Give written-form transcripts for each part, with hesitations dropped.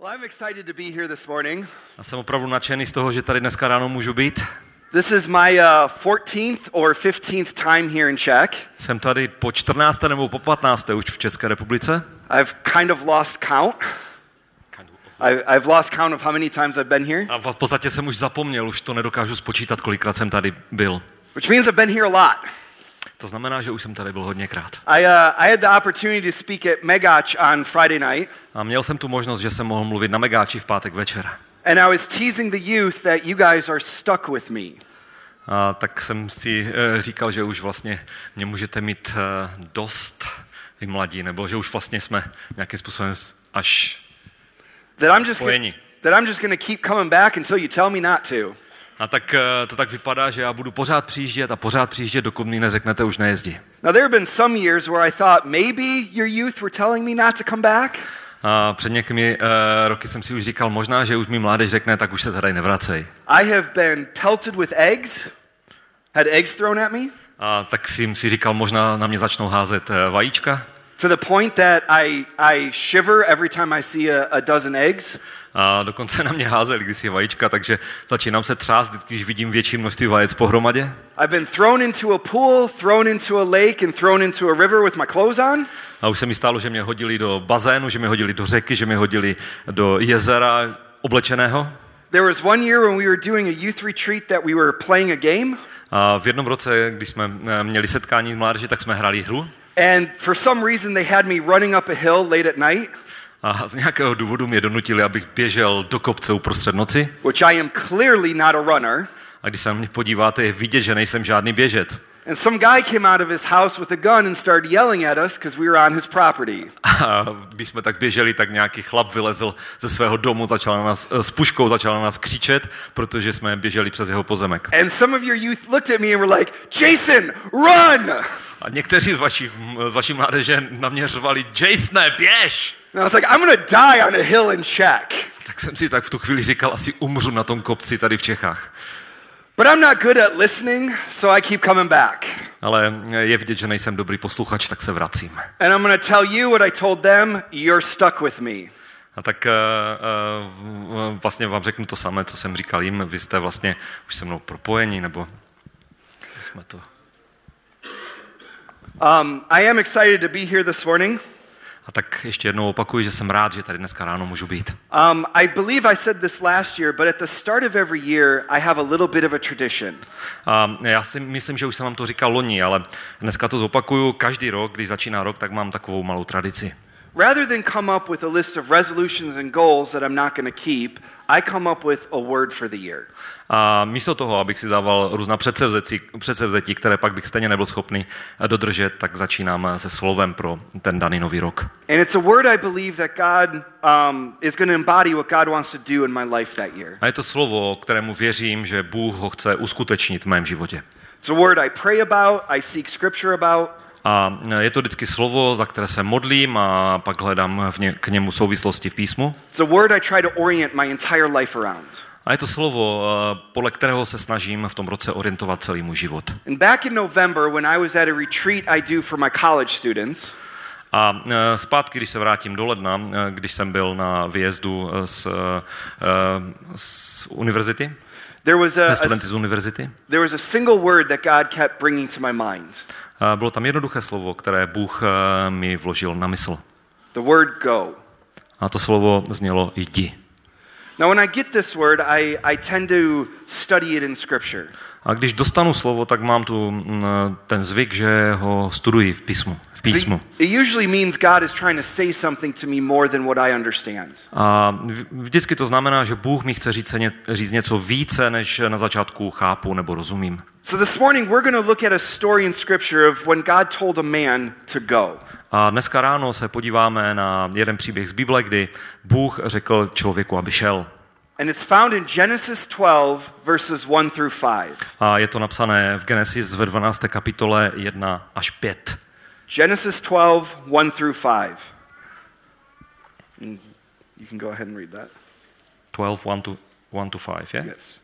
Well, I'm excited to be here this morning. Já jsem opravdu nadšený z toho, že tady dneska ráno můžu být. This is my 14th or 15th time here in Czech. Jsem tady po 14. nebo po 15. už v České republice. I've kind of lost count. I've lost count of how many times I've been here. A v podstatě jsem už zapomněl, už to nedokážu spočítat, kolikrát jsem tady byl. Which means I've been here a lot. To znamená, že už jsem tady byl hodněkrát. I had the opportunity to speak at Megach on Friday night. A měl jsem tu možnost, že jsem mohl mluvit na Megáči v pátek večer. And I was teasing the youth that you guys are stuck with me. A tak jsem si říkal, že už vlastně mě můžete mít dost, vy mladí, nebo že už vlastně jsme nějakým způsobem až spojeni. That I'm just going to keep coming back until you tell me not to. A tak to tak vypadá, že já budu pořád přijíždět, dokud mi neřeknete už nejezdí. Now there have been some years where I thought maybe your youth were telling me not to come back. A před někými roky jsem si už říkal, možná, že už mi mládež řekne, tak už se tady nevracej. I have been pelted with eggs, had eggs thrown at me. A tak jsem si říkal, možná na mě začnou házet vajíčka. To the point that I shiver every time I see a dozen eggs. A dokonce na mě házeli, když je vajíčka, takže začínám se třást, když vidím větší množství vajec pohromadě. I've been thrown into a pool, thrown into a lake and thrown into a river with my clothes on. A už se mi stalo, že mě hodili do bazénu, že mě hodili do řeky, že mě hodili do jezera oblečeného. There was one year when we were doing a youth retreat that we were playing a game. A v jednom roce, když jsme měli setkání s mládeží, tak jsme hráli hru. And for some reason they had me running up a hill late at night. A z nějakého důvodu mě donutili, abych běžel do kopce uprostřed noci. Which I am clearly not a runner. A když se na mě podíváte, je vidět, že nejsem žádný běžec. And some guy came out of his house with a gun and started yelling at us because we were on his property. A když jsme tak běželi, tak nějaký chlap vylezl ze svého domu, začal na nás s puškou, začal na nás křičet, protože jsme běželi přes jeho pozemek. And some of your youth looked at me and were like, "Jason, run!" A někteří z vaší mládeže na mě řvali, Jasone, běž! And I was like, I'm going to die on a hill in Czech. Tak jsem si tak v tu chvíli říkal, asi umřu na tom kopci tady v Čechách. But I'm not good at listening, so I keep coming back. Ale je vidět, že nejsem dobrý posluchač, tak se vracím. And I'm going to tell you what I told them, you're stuck with me. A tak vlastně vám řeknu to samé, co jsem říkal jim. Vy jste vlastně už se mnou propojení, nebo jsme to... I am excited to be here this morning. A tak ještě jednou opakuju, že jsem rád, že tady dneska ráno můžu být. I believe I said this last year, but at the start of every year, I have a little bit of a tradition. Já si myslím, že už jsem vám to říkal loni, ale dneska to zopakuju. Každý rok, když začíná rok, tak mám takovou malou tradici. Rather than come up with a list of resolutions and goals that I'm not going to keep, I come up with a word for the year. A místo toho, abych si dával různá předsevzetí, které pak bych stejně nebyl schopný dodržet, tak začínám se slovem pro ten daný nový rok. And it's a word I believe that God is going to embody what God wants to do in my life that year. A je to slovo, kterému věřím, že Bůh ho chce uskutečnit v mém životě. It's a word I pray about, I seek scripture about. A je to vždycky slovo, za které se modlím a pak hledám k němu souvislosti v písmu. It's a word I try to orient my entire life around. A je to slovo, podle kterého se snažím v tom roce orientovat celý můj život. And back in November, when I was at a retreat I do for my college students. A zpátky, když se vrátím do ledna, když jsem byl na výjezdu z univerzity, studenty z univerzity, there was a single word that God kept bringing to my mind. Bylo tam jednoduché slovo, které Bůh mi vložil na mysl. The word go. A to slovo znělo jdi. Now when I get this word, I tend to study it in scripture. A když dostanu slovo, tak mám tu ten zvyk, že ho studuji v písmu. It usually means God is trying to say something to me more than what I understand. A vždycky to znamená, že Bůh mi chce říct něco více, než na začátku chápu nebo rozumím. So this morning we're going to look at a story in scripture of when God told a man to go. A dneska ráno se podíváme na jeden příběh z Bible, kdy Bůh řekl člověku, aby šel. And it's found in Genesis 12 verses 1 through 5. A je to napsané v Genesis ve 12. kapitole 1 až 5. Genesis 12, 1 through 5. And you can go ahead and read that. 12, 1 to 5, yeah? Yes.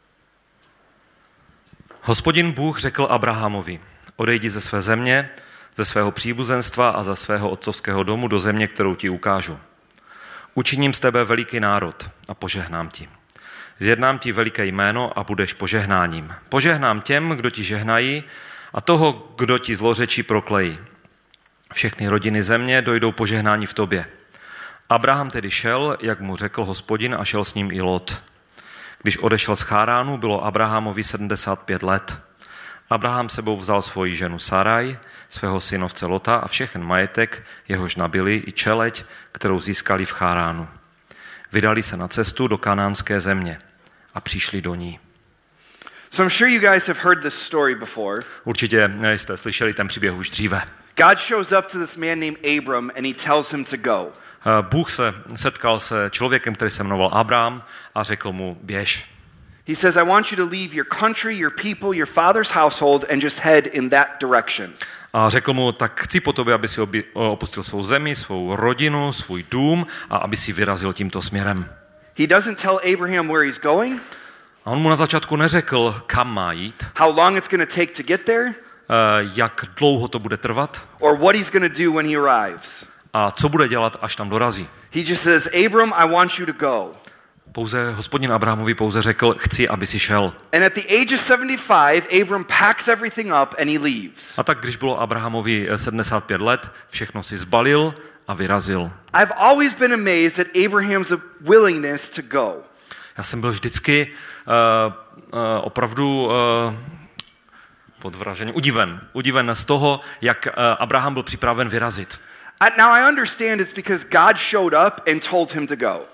Hospodin Bůh řekl Abrahamovi, odejdi ze své země, ze svého příbuzenstva a ze svého otcovského domu do země, kterou ti ukážu. Učiním z tebe veliký národ a požehnám ti. Zjednám ti veliké jméno a budeš požehnáním. Požehnám těm, kdo ti žehnají, a toho, kdo ti zlořečí, proklejí. Všechny rodiny země dojdou požehnání v tobě. Abraham tedy šel, jak mu řekl Hospodin, a šel s ním i Lot. Když odešel z Cháránu, bylo Abrahamovi 75 let. Abraham sebou vzal svoji ženu Saraj, svého synovce Lota a všechen majetek, jehož nabili, i čeleď, kterou získali v Cháránu. Vydali se na cestu do kanánské země a přišli do ní. So I'm sure you guys have heard this story before. Určitě jste slyšeli ten příběh už dříve. God shows up to this man named Abram and he tells him to go. Bůh se setkal se člověkem, který se jmenoval Abraham, a řekl mu: běž. He says, I want you to leave your country, your people, your father's household and just head in that direction. A řekl mu: tak chci po tobě, aby si opustil svou zemi, svou rodinu, svůj dům a aby si vyrazil tímto směrem. He doesn't tell Abraham where he's going. A on mu na začátku neřekl, kam má jít, how long it's going to take to get there, jak dlouho to bude trvat, or what he's going to do when he arrives. A co bude dělat, až tam dorazí. He just says, Abram, I want you to go. Pouze Hospodin Abrahamovi řekl, chci, aby si šel. And at the age of 75, Abram packs everything up and he leaves. A tak, když bylo Abrahamovi 75 let, všechno si zbalil a vyrazil. I've always been amazed at Abraham's willingness to go. Já jsem byl vždycky opravdu podvražený, udiven z toho, jak Abraham byl připraven vyrazit. Now I understand it's because God showed up and told him to go.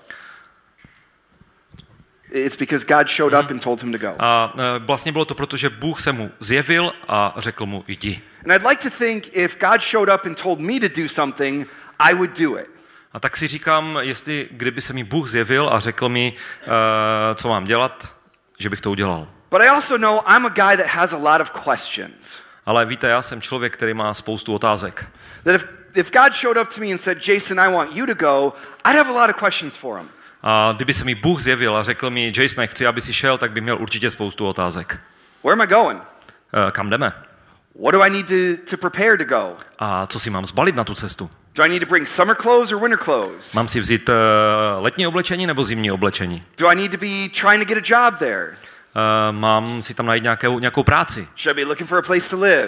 It's because God showed up and told him to go. A vlastně bylo to proto, že Bůh se mu zjevil a řekl mu: jdi. And I'd like to think if God showed up and told me to do something, I would do it. A tak si říkám, kdyby se mi Bůh zjevil a řekl mi, co mám dělat, že bych to udělal. But I also know I'm a guy that has a lot of questions. Ale víte, já jsem člověk, který má spoustu otázek. That if God showed up to me and said, Jason, I want you to go, I'd have a lot of questions for him. A kdyby se mi Bůh zjevil a řekl mi: Jason, chci, aby si šel, tak bych měl určitě spoustu otázek. Where am I going? Kam jdeme? What do I need to prepare to go? A co si mám zbalit na tu cestu? Do I need to bring summer clothes or winter clothes? Mám si vzít letní oblečení nebo zimní oblečení? Do I need to be trying to get a job there? Mám si tam najít nějakou práci? Should I be looking for a place to live?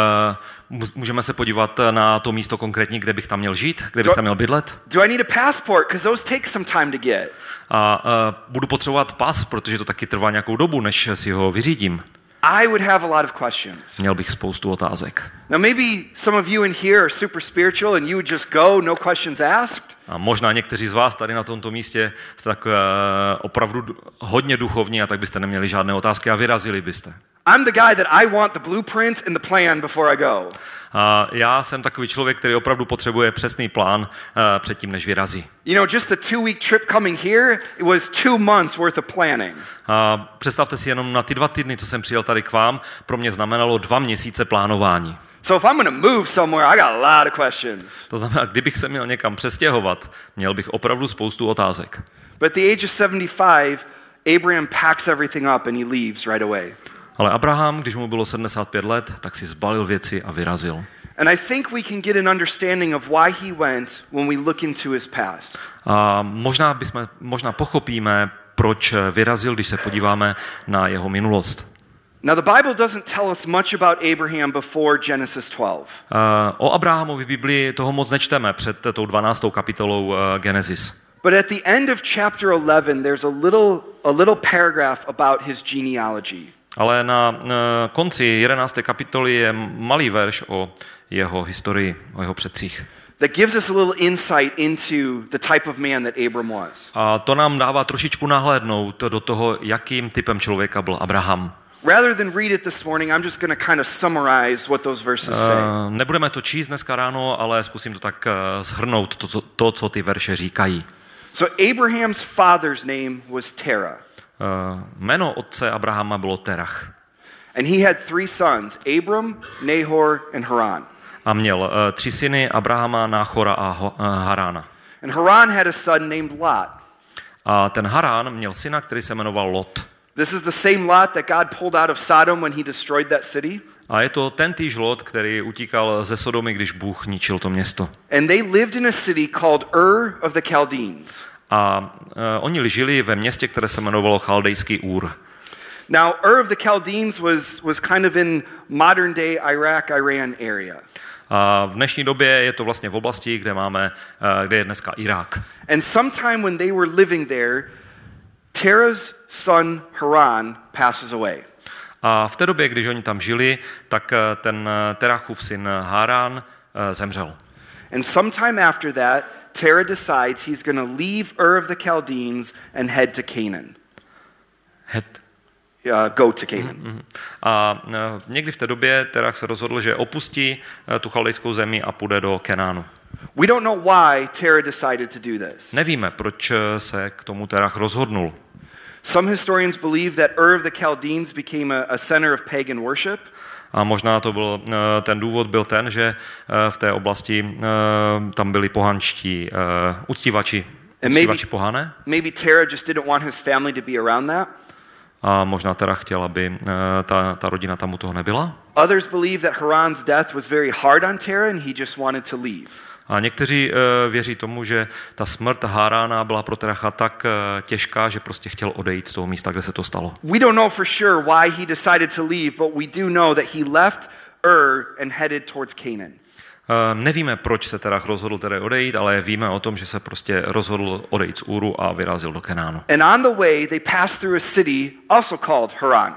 Můžeme se podívat na to místo konkrétní, kde bych tam měl žít, kde bych tam měl bydlet? Do I need a passport, because those take some time to get? A budu potřebovat pas, protože to taky trvá nějakou dobu, než si ho vyřídím. I would have a lot of questions. Měl bych spoustu otázek. Now maybe some of you in here are super spiritual and you would just go, no questions asked. A možná někteří z vás tady na tomto místě jste tak opravdu hodně duchovní a tak byste neměli žádné otázky a vyrazili byste. I'm the guy that I want the blueprint and the plan before I go. A já jsem takový člověk, který opravdu potřebuje přesný plán předtím, než vyrazí. You know, just the 2-week trip coming here, it was 2 months worth of planning. A představte si jenom na ty 2 týdny, co jsem přijel tady k vám, pro mě znamenalo 2 měsíce plánování. So if I'm going to move somewhere, I got a lot of questions. To znamená, kdybych se měl někam přestěhovat, měl bych opravdu spoustu otázek. But at the age of 75, Abraham packs everything up and he leaves right away. Ale Abraham, když mu bylo 75 let, tak si zbalil věci a vyrazil. And I think we can get an understanding of why he went when we look into his past. A možná pochopíme, proč vyrazil, když se podíváme na jeho minulost. Now the Bible doesn't tell us much about Abraham before Genesis 12. O Abrahamovi v Biblii toho moc nečteme před tou 12. kapitolou Genesis. But at the end of chapter 11 there's a little paragraph about his genealogy. Ale na konci 11. kapitoly je malý verš o jeho historii, o jeho předcích. That gives us a little insight into the type of man that Abram was. A to nám dává trošičku nahlédnout do toho, jakým typem člověka byl Abraham. Rather than read it this morning, I'm just going to kind of summarize what those verses say. Nebudeme to číst dneska ráno, ale zkusím to tak shrnout, co ty verše říkají. So Abraham's father's name was Terah. Jméno otce Abrahama bylo Terach. And he had 3 sons, Abram, Nahor and Haran. A měl 3 syny, Abrahama, Náchora a Harána. And Haran had a son named Lot. A ten Harán měl syna, který se jmenoval Lot. This is the same Lot that God pulled out of Sodom when he destroyed that city. A je to tentýž Lot, který utíkal ze Sodomy, když Bůh ničil to město. And they lived in a city called Ur of the Chaldeans. A oni žili ve městě, které se jmenovalo Chaldejský Ur. Now, Ur of the Chaldeans was kind of in modern day Iraq, Iran area. A v dnešní době je to vlastně v oblasti, kde je dneska Irák. And sometime when they were living there, Terah's son Haran passes away. A v té době, když oni tam žili, tak ten Terachův syn Haran zemřel. And sometime after that, Terah decides he's going to leave Ur of the Chaldeans and head to Canaan. Go to Canaan. A někdy v té době Terach se rozhodl, že opustí tu chaldejskou zemi a půjde do Kenánu. We don't know why Terah decided to do this. Nevíme, proč se k tomu Terach rozhodnul. Some historians believe that Ur of the Chaldeans became a center of pagan worship. A možná to byl, ten důvod byl ten, že v té oblasti tam byli pohanští uctívači pohané. Maybe Terah just didn't want his family to be around that. A možná Terach chtěl, aby ta rodina tam u toho nebyla. Others believe that Haran's death was very hard on Terah and he just wanted to leave. A někteří věří tomu, že ta smrt Harana byla pro Teracha tak těžká, že prostě chtěl odejít z toho místa, kde se to stalo. We don't know for sure why he decided to leave, but we do know that he left Ur and headed towards Canaan. Nevíme, proč se Terach rozhodl tedy odejít, ale víme o tom, že se prostě rozhodl odejít z Úru a vyrazil do Kenánu. And on the way they pass through a city also called Haran.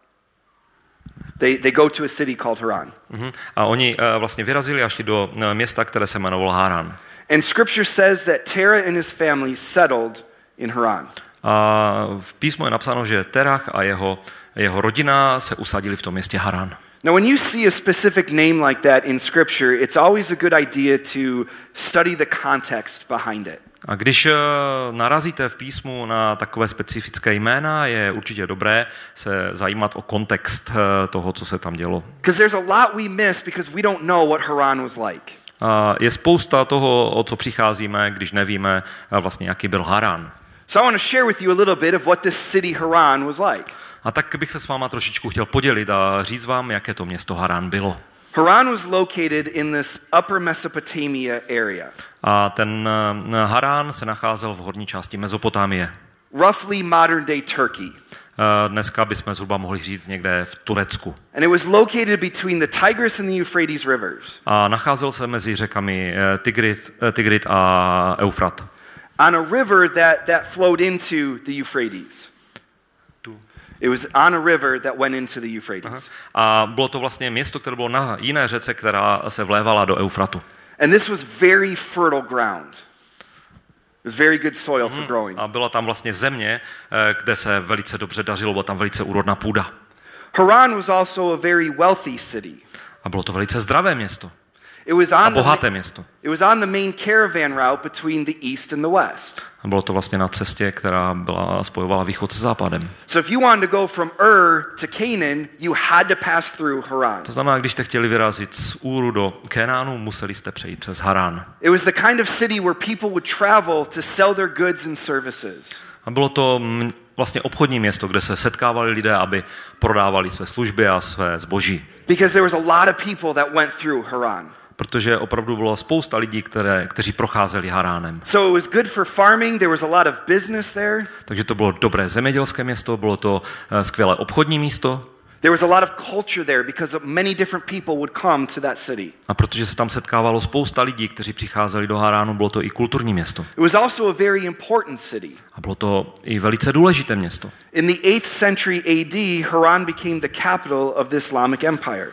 They go to a city called Haran. A oni vlastně vyrazili a šli do města, které se jmenovalo Haran. And scripture says that Terah and his family settled in Haran. A v písmu je napsáno, že Terach a jeho rodina se usadili v tom městě Haran. Now, when you see a specific name like that in Scripture, it's always a good idea to study the context behind it. A když narazíte v písmu na takové specifické jména, je určitě dobré se zajímat o kontext toho, co se tam dělo. Because there's a lot we miss because we don't know what Haran was like. Je spousta toho, o co přicházíme, když nevíme vlastně, jaký byl Haran. So I want to share with you a little bit of what this city Haran was like. A tak bych se s váma trošičku chtěl podělit a říct vám, jaké to město Haran bylo. Haran was located in this upper Mesopotamia area. A ten Haran se nacházel v horní části Mezopotámie. Roughly modern day Turkey. Dneska bychom zhruba mohli říct někde v Turecku. And it was located between the Tigris and the Euphrates rivers. A nacházel se mezi řekami Tigrit a Eufrat. On a river that flowed into the Euphrates. It was on a river that went into the Euphrates. A bylo to vlastně město, které bylo na jiné řece, která se vlévala do Eufratu. And this was very fertile ground. It was very good soil for growing. A byla tam vlastně země, kde se velice dobře dařilo, byla tam velice úrodná půda. Haran was also a very wealthy city. A bylo to velice zdravé město. A bohaté město. It was on the main caravan route between the east and the west. A bylo to vlastně na cestě, která spojovala východ se západem. So if you wanted to go from Ur to Canaan, you had to pass through Haran. To znamená, když jste chtěli vyrazit z Úru do Kenánu, museli jste přejít přes Haran. It was the kind of city where people would travel to sell their goods and services. A bylo to vlastně obchodní město, kde se setkávali lidé, aby prodávali své služby a své zboží. Because there was a lot of people that went through Haran. Protože opravdu bylo spousta lidí, kteří procházeli Haránem. So it was good for farming, there was a lot of business there. Takže to bylo dobré zemědělské město, bylo to skvělé obchodní místo. There was a lot of culture there because many different people would come to that city. A protože se tam setkávalo spousta lidí, kteří přicházeli do Haránu, bylo to i kulturní město. It was also a very important city. A bylo to i velice důležité město. In the 8th century AD, Haran became the capital of the Islamic Empire.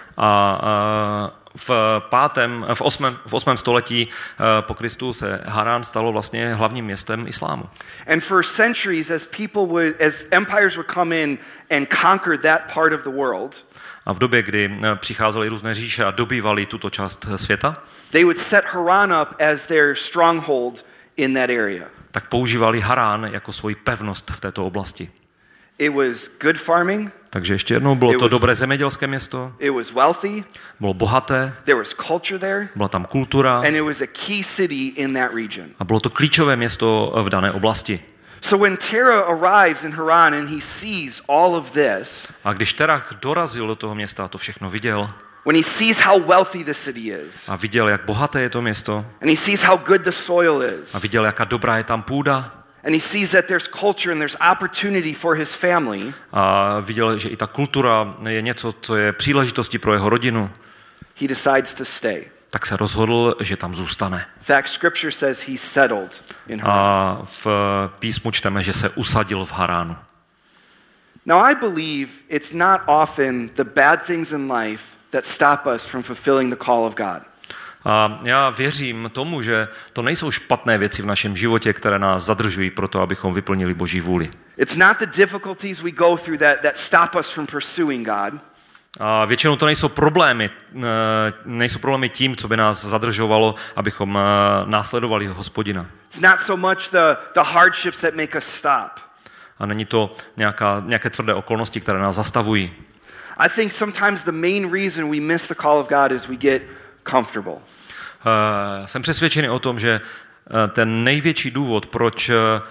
V 8. století po Kristu se Haran stalo vlastně hlavním městem islámu. And for centuries, as empires would come in and conquer that part of the world, a v době, kdy přicházely různé říše a dobývali tuto část světa, they would set Haran up as their stronghold in that area. Tak používali Haran jako svoji pevnost v této oblasti. It was good farming. Takže ještě jednou, bylo to dobré zemědělské město. It was wealthy. Bylo bohaté. There was culture there. Byla tam kultura. And it was a key city in that region. A bylo to klíčové město v dané oblasti. So when Terah arrives in Haran and he sees all of this, A když Terach dorazil do toho města a to všechno viděl, when he sees how wealthy the city is, a viděl, jak bohaté je to město, and he sees how good the soil is, a viděl, jaká dobrá je tam půda, and he sees that there's culture and there's opportunity for his family, a viděl, že i ta kultura je něco, co je příležitostí pro jeho rodinu, he decides to stay. tak se rozhodl, že tam zůstane. In fact, scripture says he settled in Haran. A v písmu čteme, že se usadil v Haránu. Now I believe it's not often the bad things in life that stop us from fulfilling the call of God. A já věřím tomu, že to nejsou špatné věci v našem životě, které nás zadržují pro to, abychom vyplnili Boží vůli. It's not the difficulties we go through that stop us from pursuing God. A většinou to nejsou problémy tím, co by nás zadržovalo, abychom následovali Hospodina. It's not so much the hardships that make us stop. A není to nějaké tvrdé okolnosti, které nás zastavují. I think sometimes the main reason we miss the call of God is we get comfortable. Jsem přesvědčený o tom, že ten největší důvod, proč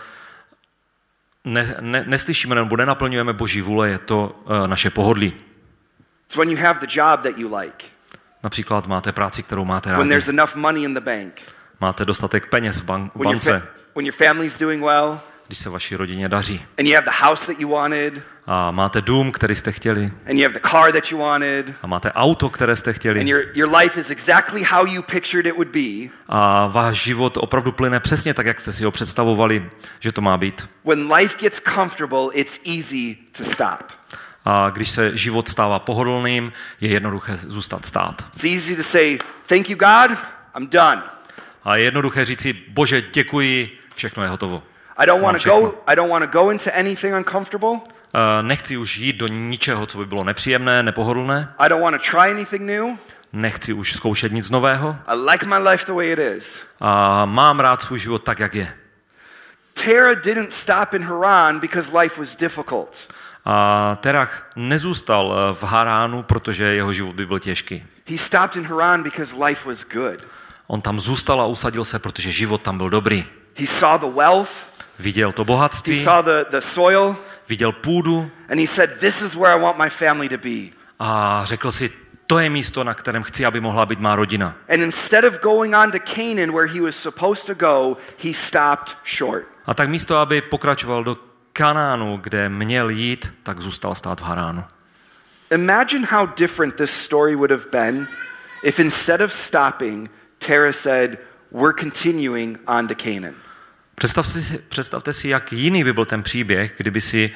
neslyšíme nebo nenaplňujeme Boží vůle, je to naše pohodlí. It's when you have the job that you like. Například máte práci, kterou máte When rádi. there's enough money in the bank. Máte dostatek peněz v bance. When your family's doing well. Když se vaší rodině daří. And you have the house that you wanted. A máte dům, který jste chtěli. And you have the car that you wanted. A máte auto, které jste chtěli. And your life is exactly how you pictured it would be. A váš život opravdu plyne přesně tak, jak jste si ho představovali, že to má být. When life gets comfortable, it's easy to stop. A když se život stává pohodlným, je jednoduché zůstat stát. It's easy to say, thank you God, I'm done. A je jednoduché říci, Bože, děkuji, všechno je hotovo. I don't want to go into anything uncomfortable. Nechci už jít do ničeho, co by bylo nepříjemné, nepohodlné. I don't want to try anything new. Nechci už zkoušet nic nového. I like my life the way it is. A mám rád svůj život tak, jak je. Terah didn't stop in Haran because life was difficult. A Terach nezůstal v Haránu, protože jeho život by byl těžký. He stopped in Haran because life was good. On tam zůstal a usadil se, protože život tam byl dobrý. He saw the wealth. Viděl to bohatství. He saw the soil. Viděl půdu. And he said, this is where I want my family to be. A řekl si, to je místo, na kterém chci, aby mohla být má rodina. And instead of going on to Canaan where he was supposed to go, he stopped short. A tak místo, aby pokračoval do Kanánu, kde měl jít, tak zůstal stát v Haránu. Imagine how different this story would have been if instead of stopping, Terah said, we're continuing on to Canaan. Představte si, jak jiný by byl ten příběh, kdyby si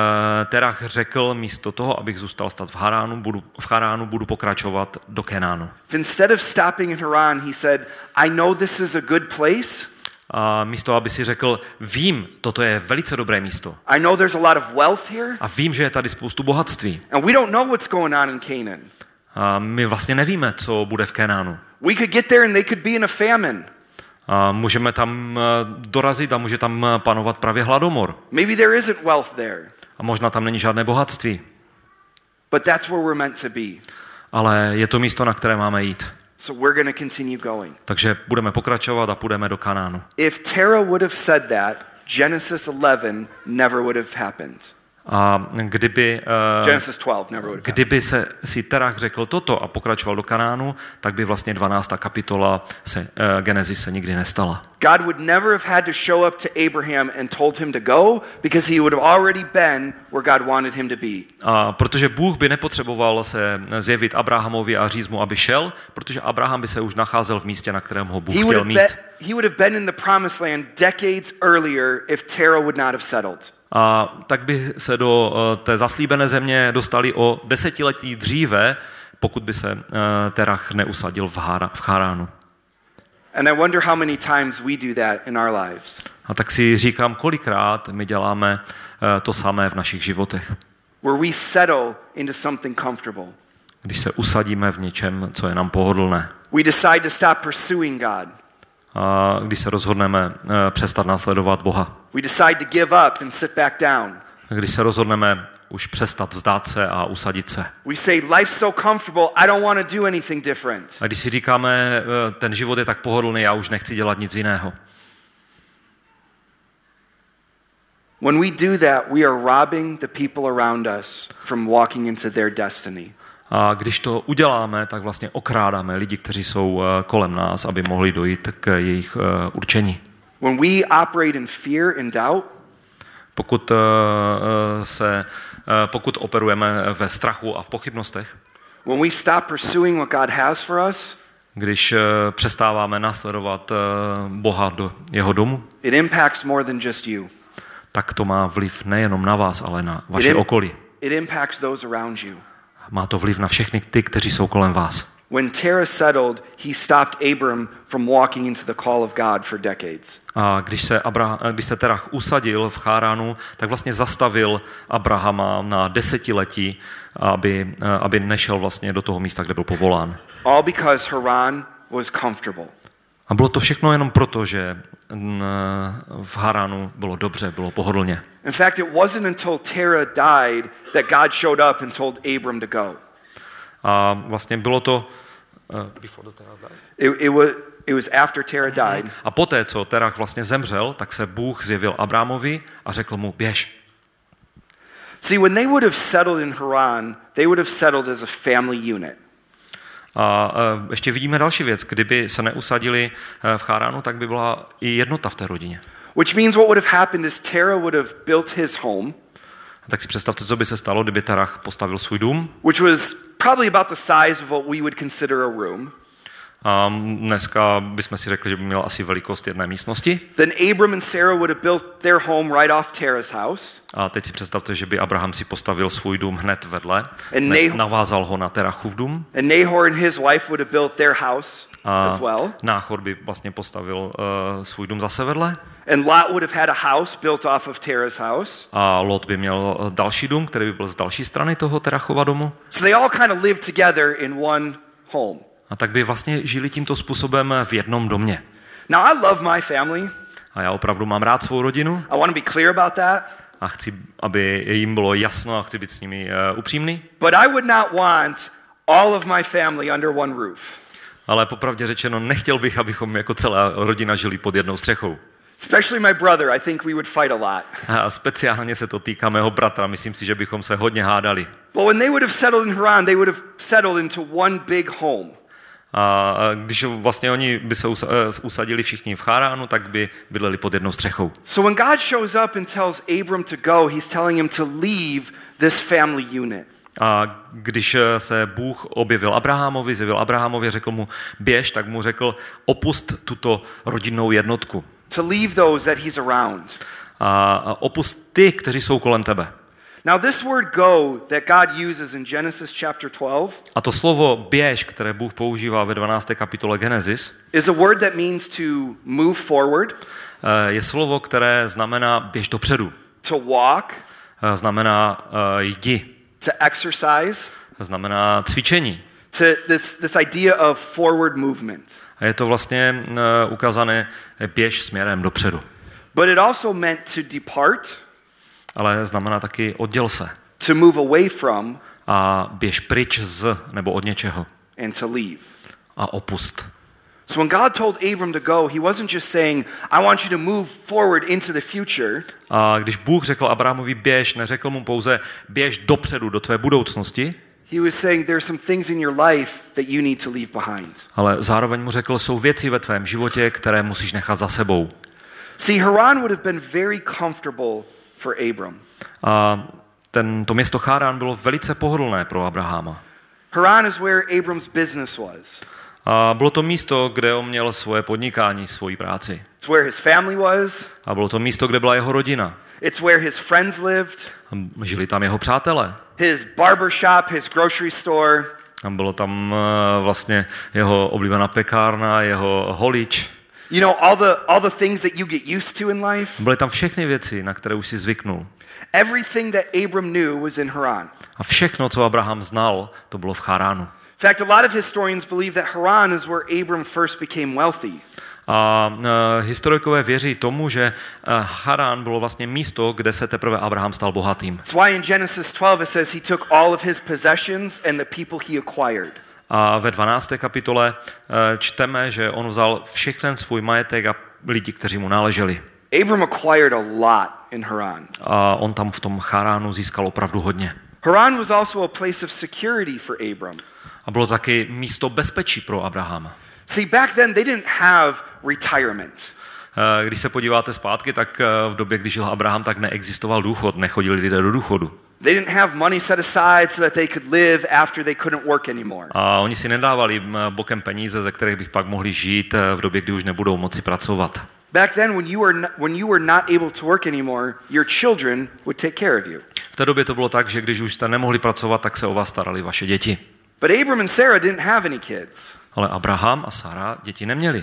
Terach řekl, místo toho, abych zůstal stát v Haránu, budu pokračovat do Kenánu. If instead of stopping in Haran, he said, I know this is a good place. A místo, aby si řekl, vím, toto je velice dobré místo. I know there's a lot of wealth here. A vím, že je tady spoustu bohatství. And we don't know what's going on in Canaan. A my vlastně nevíme, co bude v Kenánu. We could get there and they could be in a famine. A můžeme tam dorazit a může tam panovat právě hladomor. Maybe there isn't wealth there. A možná tam není žádné bohatství. But that's where we're meant to be. Ale je to místo, na které máme jít. So we're going to continue going. Takže budeme pokračovat a půjdeme do Kanánu. If Terah would have said that, Genesis 11 never would have happened. A Genesis 12 never would have kdyby si Terach řekl toto a pokračoval do Kanánu, tak by vlastně 12. kapitola Genesis se nikdy nestala. God would never have had to show up to Abraham and told him to go because he would have already been where God wanted him to be. A protože Bůh by nepotřeboval se zjevit Abrahamovi a říct mu, aby šel, protože Abraham by se už nacházel v místě, na kterém ho Bůh chtěl mít. He would have been in the promised land decades earlier if Terah would not have settled. A tak by se do té zaslíbené země dostali o 10letí dříve, pokud by se Terach neusadil v Haránu. And I wonder how many times we do that in our lives. A tak si říkám, kolikrát my děláme to samé v našich životech. Where we settle into something comfortable. Když se usadíme v něčem, co je nám pohodlné. We decide to stop pursuing God. A když se rozhodneme přestat následovat Boha. We decide to give up and sit back down. Když se rozhodneme už přestat vzdát se a usadit se. We say life's so comfortable, I don't want to do anything different. A když si říkáme, ten život je tak pohodlný, já už nechci dělat nic jiného. When we do that, we are robbing the people around us from walking into their destiny. A když to uděláme, tak vlastně okrádáme lidi, kteří jsou kolem nás, aby mohli dojít k jejich určení. When we operate in fear and doubt, pokud operujeme ve strachu a v pochybnostech, when we stop pursuing what God has for us, když přestáváme následovat Boha do jeho domu, it impacts more than just you. Tak to má vliv nejenom na vás, ale na vaše okolí. It impacts those around you. Má to vliv na všechny ty, kteří jsou kolem vás. When Terah settled, he stopped Abram from walking into the call of God for decades. A když se Terach usadil v Cháránu, tak vlastně zastavil Abrahama na desetiletí, aby nešel vlastně do toho místa, kde byl povolán. All because Haran was comfortable. A bylo to všechno jenom proto, že v Haránu bylo dobře, bylo pohodlně. In fact, it wasn't until Terah died that God showed up and told Abram to go. A vlastně bylo to It was after Terah died. A poté, co Terach vlastně zemřel, tak se Bůh zjevil Abramovi a řekl mu: běž. See, when they would have settled in Haran, they would have settled as a family unit. A ještě vidíme další věc. Kdyby se neusadili v Cháránu, tak by byla i jednota v té rodině. Which means what would have happened is Terah would have built his home. Tak si představte, co by se stalo, kdyby Terach postavil svůj dům. Which was probably about the size of what we would consider a room. A dneska bychom si řekli, že by měl asi velikost jedné místnosti. Then Abram and Sarah would have built their home right off Terah's house. A teď si představte, že by Abraham si postavil svůj dům hned vedle, navázal ho na Terachův dům. And Nahor and his wife would have built their house as well. Náchor by vlastně postavil svůj dům zase vedle. And Lot would have had a house built off of Terah's house. A Lot by měl další dům, který by byl z další strany toho Terachova domu. So they all kind of lived together in one home. A tak by vlastně žili tímto způsobem v jednom domě. Now I love my family. A já opravdu mám rád svou rodinu. I want to be clear about that. A chci, aby jim bylo jasno a chci být s nimi upřímný. But I would not want all of my family under one roof. Ale popravdě řečeno, nechtěl bych, abychom jako celá rodina žili pod jednou střechou. Especially my brother, I think we would fight a lot. A speciálně se to týká mého bratra, myslím si, že bychom se hodně hádali. But when they would have settled in Haran, they would have settled into one big home. A když vlastně oni by se usadili všichni v Cháránu, tak by bydleli pod jednou střechou. So when God shows up and tells Abram to go, he's telling him to leave this family unit. A když se Bůh objevil Abrahamovi, řekl mu běž, tak mu řekl opust tuto rodinnou jednotku. To leave those that he's around. A opust ty, kteří jsou kolem tebe. Now this word go that God uses in Genesis chapter 12. A to slovo běž, které Bůh používá ve 12. kapitole Genesis, is a word that means to move forward. Je slovo, které znamená běž dopředu. To walk. Znamená jdi. To exercise. Znamená cvičení. To this idea of forward movement. A je to vlastně ukázané běž směrem dopředu. But it also meant to depart. Ale znamená taky odděl se. To move away from. A běž pryč z nebo od něčeho. And to leave. A opust. So when God told Abram to go, he wasn't just saying, I want you to move forward into the future. A když Bůh řekl Abrahamovi běž, neřekl mu pouze běž dopředu do tvé budoucnosti. He was saying there are some things in your life that you need to leave behind. Ale zároveň mu řekl, jsou věci ve tvém životě, které musíš nechat za sebou. See, Haran would have been very comfortable for Abram. A to město Chárán bylo velice pohodlné pro Abrahama. Haran is where Abram's business was. A bylo to místo, kde on měl svoje podnikání, svoji práci. It's where his family was. A bylo to místo, kde byla jeho rodina. It's where his friends lived. A žili tam jeho přátelé. His barber shop, his grocery store. A bylo tam vlastně jeho oblíbená pekárna, jeho holič. You know, all the things that you get used to in life. Byly tam všechny věci, na které už si zvyknul. Everything that Abram knew was in Haran. A všechno, co Abraham znal, to bylo v Cháránu. In fact, a lot of historians believe that Haran is where Abram first became wealthy. A historikové věří tomu, že Charán bylo vlastně místo, kde se teprve Abraham stal bohatým. That's why in Genesis 12 it says he took all of his possessions and the people he acquired. A ve 12. kapitole čteme, že on vzal všechen svůj majetek a lidi, kteří mu náleželi. Abram acquired a lot in Haran. A on tam v tom Charánu získal opravdu hodně. Haran was also a place of security for Abram. A bylo taky místo bezpečí pro Abrahama. See, back then they didn't have retirement. Když se podíváte zpátky, tak v době, kdy žil Abraham, tak neexistoval důchod, nechodili lidé do důchodu. They didn't have money set aside so that they could live after they couldn't work anymore. A oni si nedávali bokem peníze, ze kterých bych pak mohli žít v době, kdy už nebudou moci pracovat. Back then, when you were not able to work anymore, your children would take care of you. V té době to bylo tak, že když už jste nemohli pracovat, tak se o vás starali vaše děti. But Abram and Sarah didn't have any kids. Ale Abraham a Sara děti neměli.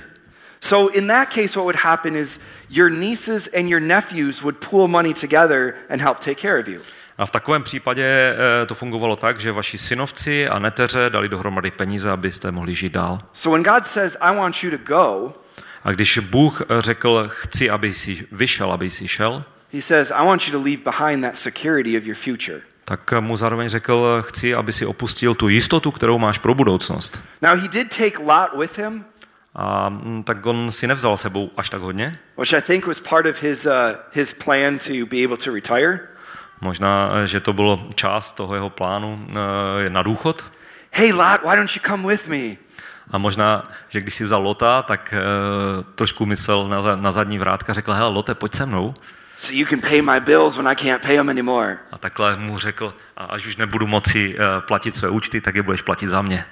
So in that case, what would happen is your nieces and your nephews would pool money together and help take care of you. A v takovém případě to fungovalo tak, že vaši synovci a neteře dali dohromady peníze, abyste mohli žít dál. So when God says, I want you to go, a když Bůh řekl, chci, aby jsi vyšel, aby jsi šel, he says, I want you to leave behind that security of your future. Tak mu zároveň řekl, chci, aby si opustil tu jistotu, kterou máš pro budoucnost. Now he did take Lot with him. A tak on si nevzal sebou až tak hodně. Which I think was part of his plan to be able to retire. Možná, že to bylo část toho jeho plánu na důchod. Hey Lot, why don't you come with me? A možná, že když si vzal Lota, tak trošku myslel na zadní vrátka, řekl, hele Lote, pojď se mnou. So you can pay my bills when I can't pay them anymore. A takhle mu řekl, a až už nebudu moci platit své účty, tak je budeš platit za mě.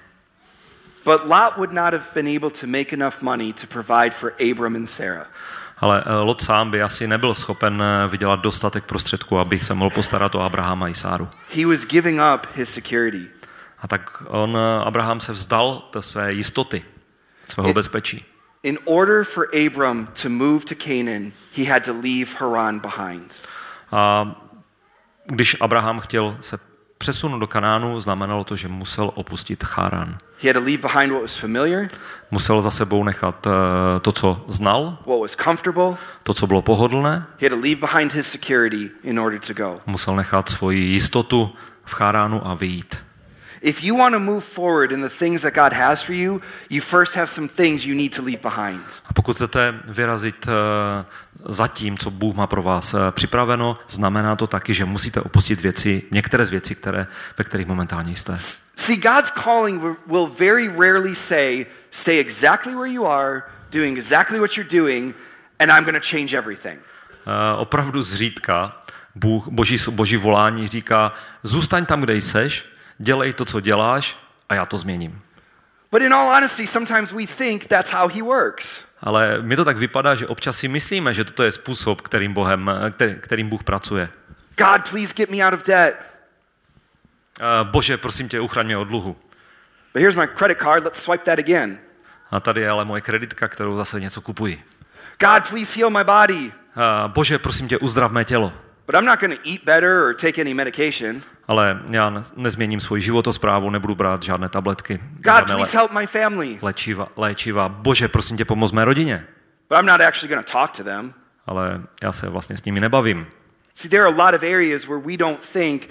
But Lot would not have been able to make enough money to provide for Abram and Sarah. Ale Lot sám by asi nebyl schopen vydělat dostatek prostředků, aby se mohl postarat o Abrahama i Sáru. He was giving up his security. A tak Abraham se vzdal do své jistoty, svého bezpečí. In order for Abram to move to Canaan, he had to leave Haran behind. A když Abraham chtěl se přesunout do Kanánu, znamenalo to, že musel opustit Charán. He had to leave behind what was familiar. Musel za sebou nechat to, co znal. What was comfortable. To, co bylo pohodlné. He had to leave behind his security in order to go. Musel nechat svoji jistotu v Charánu a vyjít. If you want to move forward in the things that God has for you, you first have some things you need to leave behind. A pokud chcete vyrazit za tím, co Bůh má pro vás připraveno, znamená to taky, že musíte opustit věci, některé z věcí, ve kterých momentálně jste. See, God's calling will very rarely say, stay exactly where you are, doing exactly what you're doing, and I'm going to change everything. Opravdu zřídka Boží volání říká, zůstaň tam, kde jseš, dělej to, co děláš, a já to změním. But in all honesty, sometimes we think that's how he works. Ale mi to tak vypadá, že občas si myslíme, že toto je způsob, kterým Bůh pracuje. God, please get me out of debt. Bože, prosím tě, uchraň mě od dluhu. But here's my credit card, let's swipe that again. A tady je ale moje kreditka, kterou zase něco kupuji. God, please heal my body. Bože, prosím tě, uzdrav mé tělo. But I'm not going to eat better or take any medication. Ale já nezměním svoji životosprávu, nebudu brát žádné tabletky. God, please help my family. Léčiva. Bože, prosím tě, pomoz mé rodině. But I'm not actually going to talk to them. Ale já se vlastně s nimi nebavím. See, there are a lot of areas where we don't think,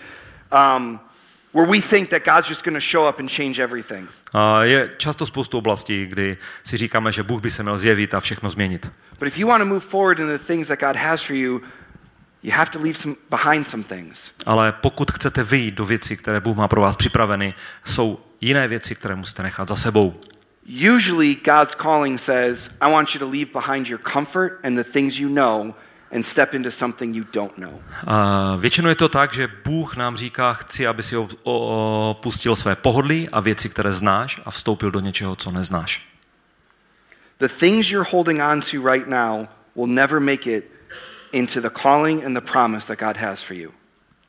where we think that God's just going to show up and change everything. A je často spoustu oblastí, kdy si říkáme, že Bůh by se měl zjevit a všechno změnit. But if you want to move forward in the things that God has for you, you have to leave behind some things. Ale pokud chcete vyjít do věcí, které Bůh má pro vás připraveny, jsou jiné věci, které musíte nechat za sebou. Usually God's calling says, I want you to leave behind your comfort and the things you know and step into something you don't know. Většinou je to tak, že Bůh nám říká, chci, aby si opustil své pohodlí a věci, které znáš, a vstoupil do něčeho, co neznáš. The things you're holding on to right now will never make it into the calling and the promise that God has for you.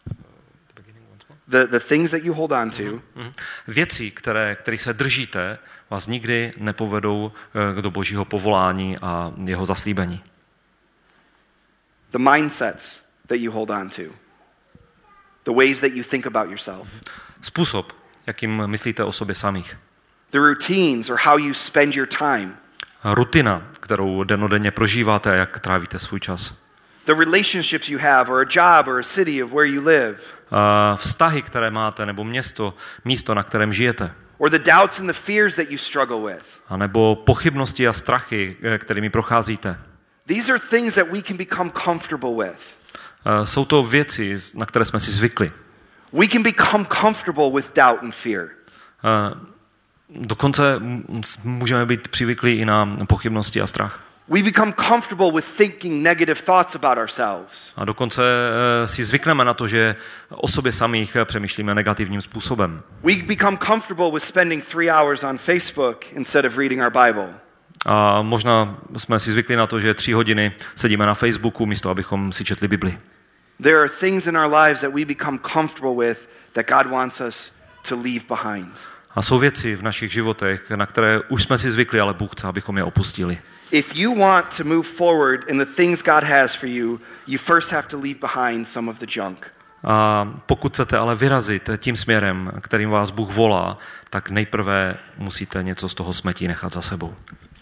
The things that you hold on to. Věci, kterých se držíte, vás nikdy nepovedou do Božího povolání a jeho zaslíbení. The mindsets that you hold on to. The ways that you think about yourself. Způsob, jakým myslíte o sobě samých. The routines or how you spend your time. Rutina, kterou dennodenně prožíváte a jak trávíte svůj čas. The relationships you have, or a job, or a city of where you live. Vztahy, které máte, nebo místo, na kterém žijete. Or the doubts and the fears that you struggle with. A nebo pochybnosti a strachy, kterými procházíte. These are things that we can become comfortable with. Jsou to věci, na které jsme si zvykli. We can become comfortable with doubt and fear. Dokonce můžeme být přivyklí i na pochybnosti a strach. We become comfortable with thinking negative thoughts about ourselves. A dokonce si zvykneme na to, že o sobě samých přemýšlíme negativním způsobem. We become comfortable with spending 3 hours on Facebook instead of reading our Bible. A možná jsme si zvykli na to, že 3 hodiny sedíme na Facebooku, místo abychom si četli Bibli. There are things in our lives that we become comfortable with that God wants us to leave behind. A jsou věci v našich životech, na které už jsme si zvykli, ale Bůh chce, abychom je opustili. If you want to move forward in the things God has for you, you first have to leave behind some of the junk. A pokud chcete ale vyrazit tím směrem, kterým vás Bůh volá, tak nejprve musíte něco z toho smetí nechat za sebou.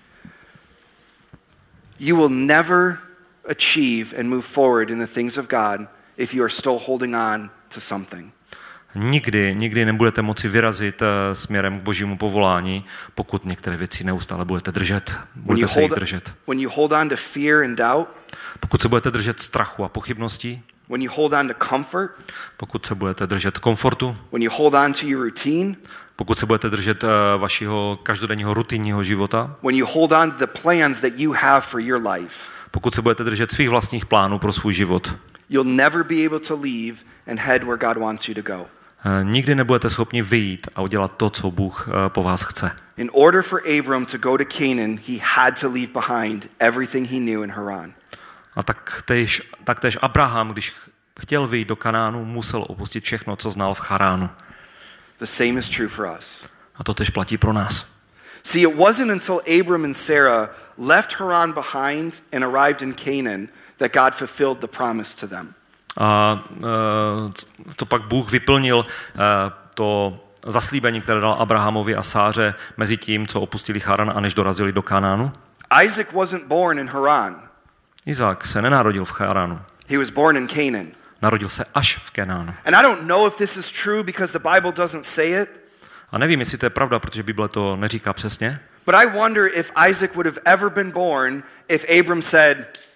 You will never achieve and move forward in the things of God if you are still holding on to something. Nikdy nebudete moci vyrazit směrem k Božímu povolání, pokud některé věci neustále budete držet. Budete se jich držet. When you hold on to fear and doubt, pokud se budete držet strachu a pochybností, when you hold on to comfort, pokud se budete držet komfortu, when you hold on to your routine, pokud se budete držet vašeho každodenního rutinního života, when you hold on to the plans that you have for your life, pokud se budete držet svých vlastních plánů pro svůj život, you'll never be able to leave and head where God wants you to go. Nikdy nebudete schopni vyjít a udělat to, co Bůh po vás chce. In order for Abram to go to Canaan, he had to leave behind everything he knew in Haran. A taktéž Abraham, když chtěl vyjít do Kanánu, musel opustit všechno, co znal v Charánu. The same is true for us. A to tež platí pro nás. See, it wasn't until Abram and Sarah left Haran behind and arrived in Canaan that God fulfilled the promise to them. A to pak Bůh vyplnil to zaslíbení, které dal Abrahamovi a Sáře mezi tím, co opustili Charan a než dorazili do Kanánu. Isaac wasn't born in Haran. Izák se nenarodil v Charánu. He was born in Canaan. Narodil se až v Kenánu. And I don't know if this is true because the Bible doesn't say it. A nevím, jestli to je pravda, protože Bible to neříká přesně. But I wonder if Isaac would have ever been born if Abram said,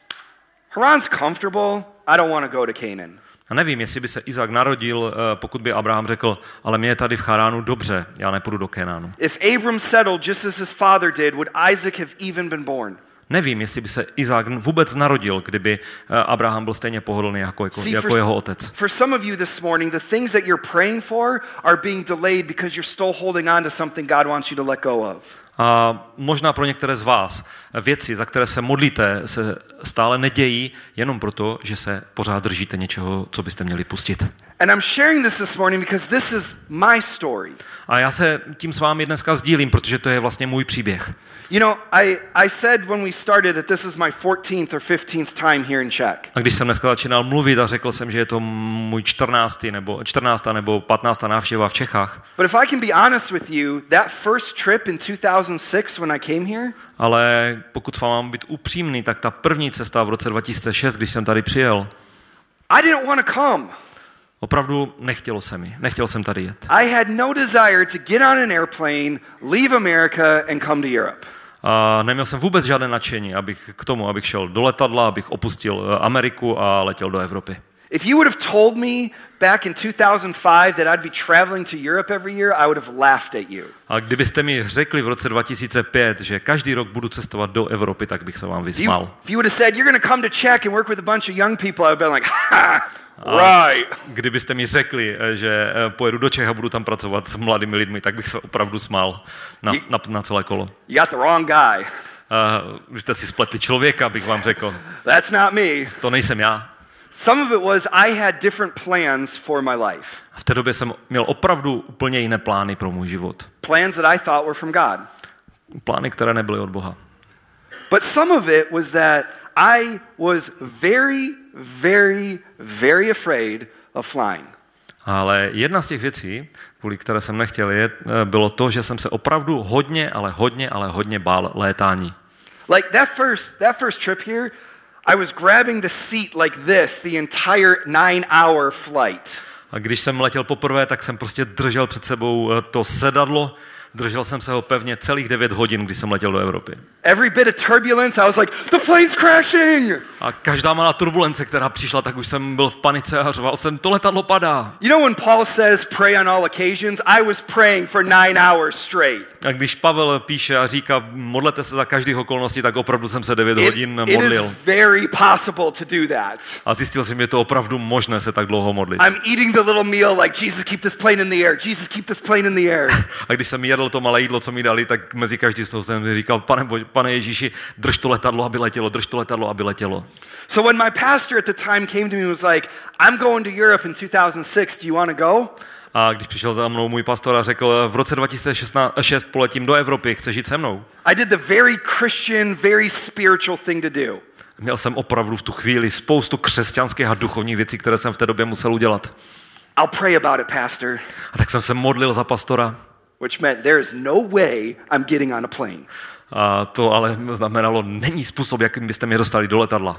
Haran's comfortable, I don't want to go to Canaan. A nevím, jestli by se Izák narodil, pokud by Abraham řekl, ale mě je tady v Charánu dobře, já nepůjdu do Kenánu. If Abram settled just as his father did, would Isaac have even been born? Nevím, jestli by se Izák vůbec narodil, kdyby Abraham byl stejně pohodlný jako jeho otec. For some of you this morning, the things that you're praying for are being delayed because you're still holding on to something God wants you to let go of. A možná pro některé z vás věci, za které se modlíte, se stále nedějí jenom proto, že se pořád držíte něčeho, co byste měli pustit. And I'm sharing this morning because this is my story. A já se tím s vámi dneska sdílím, protože to je vlastně můj příběh. You know, I said when we started that this is my 14th or 15th time here in Czech. A když jsem dneska začínal mluvit a řekl jsem, že je to můj 14. nebo 15. návštěva v Čechách. But if I can be honest with you, that first trip in 2006 when I came here, ale pokud s vámi mám být upřímný, tak ta první cesta v roce 2006, když jsem tady přijel, I didn't want to come. Opravdu nechtělo se mi. Nechtěl jsem tady jet. I had no desire to get on an airplane, leave America and come to Europe. A neměl jsem vůbec žádné nadšení, abych šel do letadla, abych opustil Ameriku a letěl do Evropy. If you would have told me back in 2005 that I'd be traveling to Europe every year, I would have laughed at you. A kdybyste mi řekli v roce 2005, že každý rok budu cestovat do Evropy, tak bych se vám vysmál. If you would have said you're going to come to Czech and work with a bunch of young people, I would have been like, ha, right. Kdybyste mi řekli, že pojedu do Čech a budu tam pracovat s mladými lidmi, tak bych se opravdu smál na celé kolo. You got the wrong guy. Vy jste si spletli člověka, bych vám řekl. That's not me. To nejsem já. Some of it was I had different plans for my life. V té době jsem měl opravdu úplně jiné plány pro můj život. Plans that I thought were from God. Plány, které nebyly od Boha. But some of it was that I was very, very, very afraid of flying. Ale jedna z těch věcí, kvůli které jsem nechtěl jet, bylo to, že jsem se opravdu hodně bál létání. Like that first trip here, I was grabbing the seat like this the entire 9-hour flight. A když jsem letěl poprvé, tak jsem prostě držel před sebou to sedadlo Držel jsem se ho pevně celých 9 hodin, když jsem letěl do Evropy. Every bit of turbulence, I was like, the plane's crashing! A každá malá turbulence, která přišla, tak už jsem byl v panice a řval jsem, to letadlo padá. You know when Paul says pray on all occasions, I was praying for 9 hours straight. A když Pavel píše a říká, modlete se za každých okolností, tak opravdu jsem se 9 hodin modlil. It is very possible to do that. A zjistil jsem, že je to opravdu možné se tak dlouho modlit. I'm eating the little meal like Jesus keep this plane in the air. Jesus keep this plane in the air. A když jsem jedl to malé jídlo, co mi dali, tak mezi každý z toho jsem říkal, pane Ježíši, drž to letadlo, aby letělo, drž to letadlo, aby letělo. So when my pastor at the time came to me and was like, I'm going to Europe in 2006, do you want to go? A když přišel za mnou můj pastor a řekl, v roce 2006 poletím do Evropy, chceš jít se mnou? I did the very Christian, very spiritual thing to do. Měl jsem opravdu v tu chvíli spoustu křesťanských a duchovních věcí, které jsem v té době musel udělat. I'll pray about it, pastor. A tak jsem se modlil za pastora. Which meant there is no way I'm getting on a plane. A to ale znamenalo, není způsob, jakým byste mě dostali do letadla.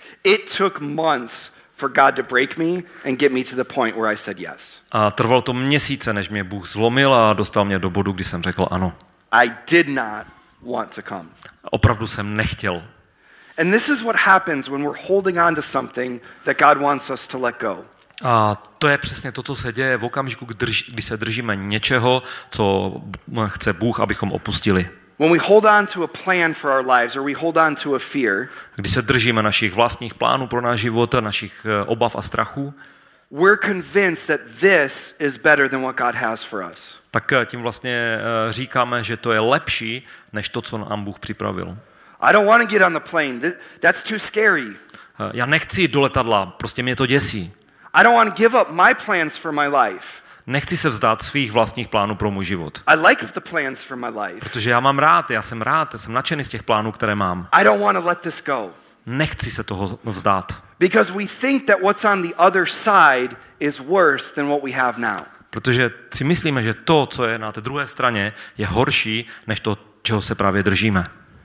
It took months for God to break me and get me to the point where I said yes. A trvalo to měsíce, než mě Bůh zlomil a dostal mě do bodu, kdy jsem řekl ano. I did not want to come. Opravdu jsem nechtěl. And this is what happens when we're holding on to something that God wants us to let go. A to je přesně to, co se děje v okamžiku, kdy se držíme něčeho, co chce Bůh, abychom opustili. When we hold on to a plan for our lives or we hold on to a fear, když se držíme našich vlastních plánů pro náš život, našich obav a strachů, we're convinced that this is better than what God has for us. Tak tím vlastně říkáme, že to je lepší než to, co nám Bůh připravil. I don't want to get on the plane. That's too scary. Já nechci jít do letadla, prostě mě to děsí. I don't want to give up my plans for my life. Nechci se vzdát svých vlastních plánů pro můj život. I like the plans for my life. Protože já mám rád, já jsem nadšený z těch plánů, které mám. I don't want to let this go. Nechci se toho vzdát. Because we think that what's on the other side is worse than what we have now. Protože si myslíme, že to, co je na té druhé straně, je horší než to, čeho se právě držíme.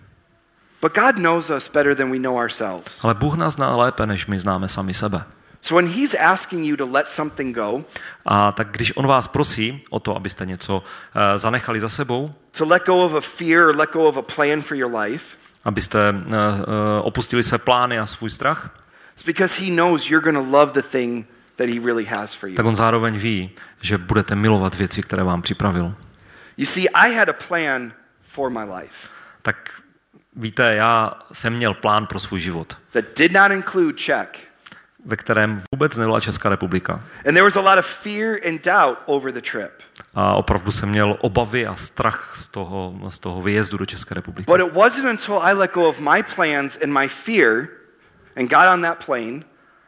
But God knows us better than we know ourselves. Ale Bůh nás zná lépe, než my známe sami sebe. So when he's asking you to let something go, a tak když on vás prosí o to, abyste něco zanechali za sebou, to let go of a fear or let go of a plan for your life, abyste opustili své plány a svůj strach, it's because he knows you're going to love the thing that he really has for you. Tak on zároveň ví, že budete milovat věci, které vám připravil. You see, I had a plan for my life. Tak víte, já jsem měl plán pro svůj život. That did not include Czech. Ve kterém vůbec nebyla Česká republika. And there was a lot of fear and doubt over the trip. A opravdu jsem měl obavy a strach z toho výjezdu do České republiky. But it wasn't until I let go of my plans and my fear and got on that plane.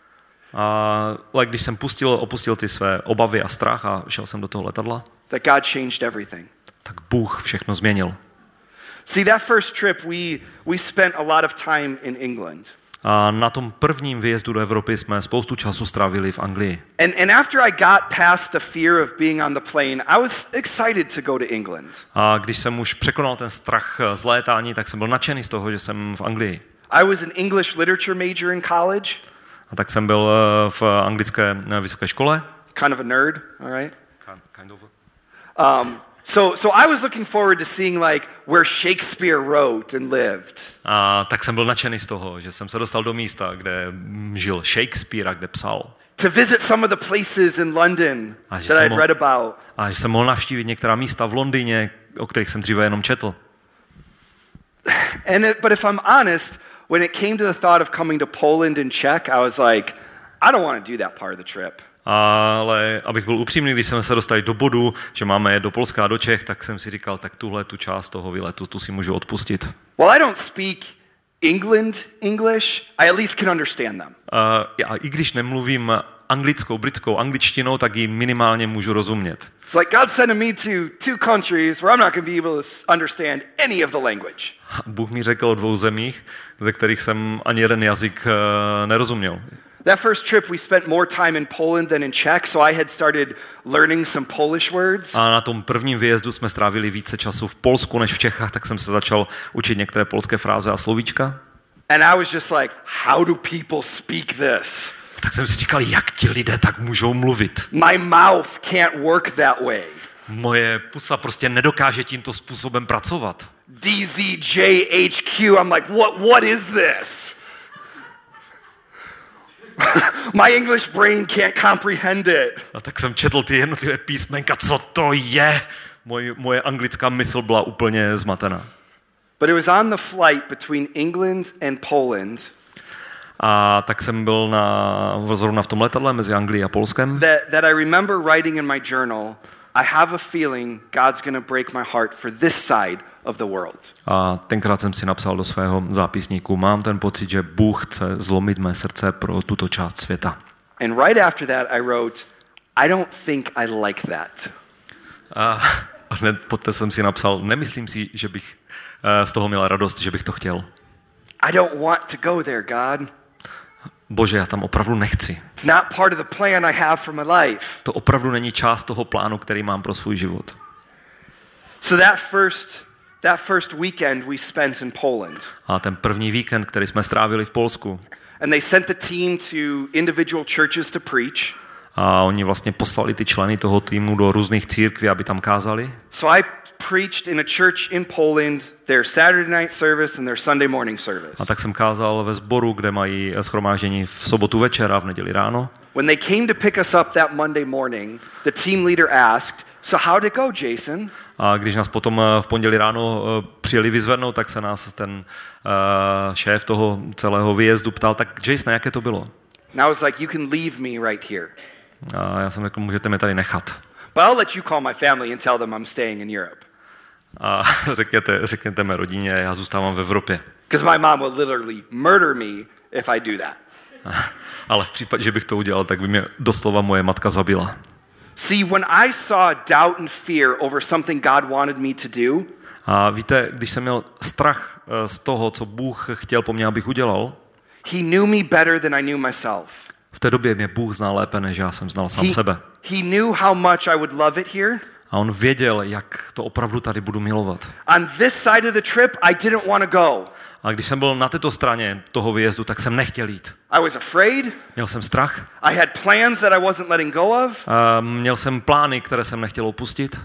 Ale když jsem opustil ty své obavy a strach a šel jsem do toho letadla, that God changed everything. Tak Bůh všechno změnil. See, that first trip we spent a lot of time in England. A na tom prvním výjezdu do Evropy jsme spoustu času strávili v Anglii. And after I got past the fear of being on the plane, I was excited to go to England. A když jsem už překonal ten strach z létání, tak jsem byl nadšený z toho, že jsem v Anglii. I was an English literature major in college. A tak jsem byl v anglické vysoké škole. Kind of a nerd, all right? Kind of. So I was looking forward to seeing like where Shakespeare wrote and lived. A tak jsem byl nadšený z toho, že jsem se dostal do místa, kde žil Shakespeare a kde psal. To visit some of the places in London that I'd read about. A že jsem mohl navštívit některá místa v Londýně, o kterých jsem dříve jenom četl. But if I'm honest, when it came to the thought of coming to Poland and Czech, I was like, I don't want to do that part of the trip. Ale abych byl upřímný, když jsme se dostali do bodu, že máme jet do Polska a do Čech, tak jsem si říkal, tak tu část toho výletu, tu si můžu odpustit. Well, I don't speak English, I at least can understand them. I když nemluvím britskou angličtinou, tak ji minimálně můžu rozumět. It's like God sent me to 2 countries where I'm not going to be able to understand any of the language. Bůh mi řekl o 2 zemích, ze kterých jsem ani jeden jazyk nerozuměl. That first trip we spent more time in Poland than in Czech, so I had started learning some Polish words. A na tom prvním výjezdu jsme strávili více času v Polsku než v Čechách, tak jsem se začal učit některé polské fráze a slovíčka. And I was just like, how do people speak this? Tak jsem si říkal, jak ti lidé tak můžou mluvit. My mouth can't work that way. Moje pusa prostě nedokáže tímto způsobem pracovat. DZJHQ, I'm like, what is this? My English brain can't comprehend it. A tak jsem četl ty jednotlivé písmenka, co to je? Moje anglická mysl byla úplně zmatená. But it was on the flight between England and Poland. A tak jsem byl zrovna v tom letadle mezi Anglií a Polskem. That I remember writing in my journal, I have a feeling God's going to break my heart for this side of the world. A tenkrát jsem si napsal do svého zápisníku, mám ten pocit, že Bůh chce zlomit mé srdce pro tuto část světa. And right after that I wrote, I don't think I like that. A hned poté jsem si napsal, nemyslím si, že bych z toho měl radost, že bych to chtěl. I don't want to go there, God. Bože, já tam opravdu nechci. It's not part of the plan I have for my life. To opravdu není část toho plánu, který mám pro svůj život. So that first weekend we spent in Poland. A ten první víkend, který jsme strávili v Polsku. And they sent the team to individual churches to preach. A oni vlastně poslali ty členy toho týmu do různých církví, aby tam kázali. So I preached in a church in Poland their Saturday night service and their Sunday morning service. A tak jsem kázal ve sboru, kde mají shromáždění v sobotu večer a v neděli ráno. When they came to pick us up that Monday morning, the team leader asked, "So how did it go, Jason?" A když nás potom v pondělí ráno přijeli vyzvednout, tak se nás ten šéf toho celého výjezdu ptal, tak Jason, jaké to bylo? And I was like, you can leave me right here. A já jsem řekl, můžete mě tady nechat. But I'll let you call my family and tell them I'm staying in Europe. A řekněte mé rodině, já zůstávám v Evropě. Because my mom would literally murder me if I do that. Ale v případě, že bych to udělal, tak by mě doslova moje matka zabila. See, when I saw doubt and fear over something God wanted me to do, a víte, když jsem měl strach z toho, co Bůh chtěl po mně, abych udělal, he knew me better than I knew myself. V té době mě Bůh znal lépe, než já jsem znal sám sebe. He knew how much I would love it here. A on věděl, jak to opravdu tady budu milovat. On this side of the trip, I didn't want to go. A když jsem byl na této straně toho výjezdu, tak jsem nechtěl jít. I was afraid. Měl jsem strach. I had plans that I wasn't letting go of. Měl jsem plány, které jsem nechtěl opustit.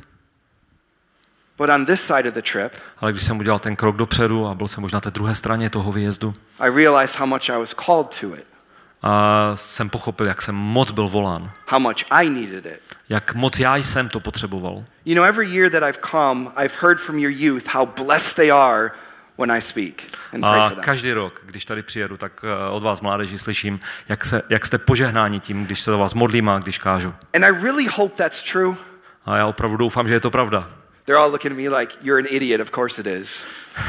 But on this side of the trip, ale když jsem udělal ten krok dopředu a byl jsem možná na té druhé straně toho výjezdu, I realized how much I was called to it. A jsem pochopil, jak jsem moc byl volán. How much I needed it. Jak moc já jsem to potřeboval. You know, every year that I've come, I've heard from your youth how blessed they are when I speak and pray for them. A každý rok, když tady přijedu, tak od vás mládeži slyším, jak jste požehnáni tím, když se za vás modlím a když kážu. And I really hope that's true. A já opravdu doufám, že je to pravda. They're all looking at me like, you're an idiot, of course it is.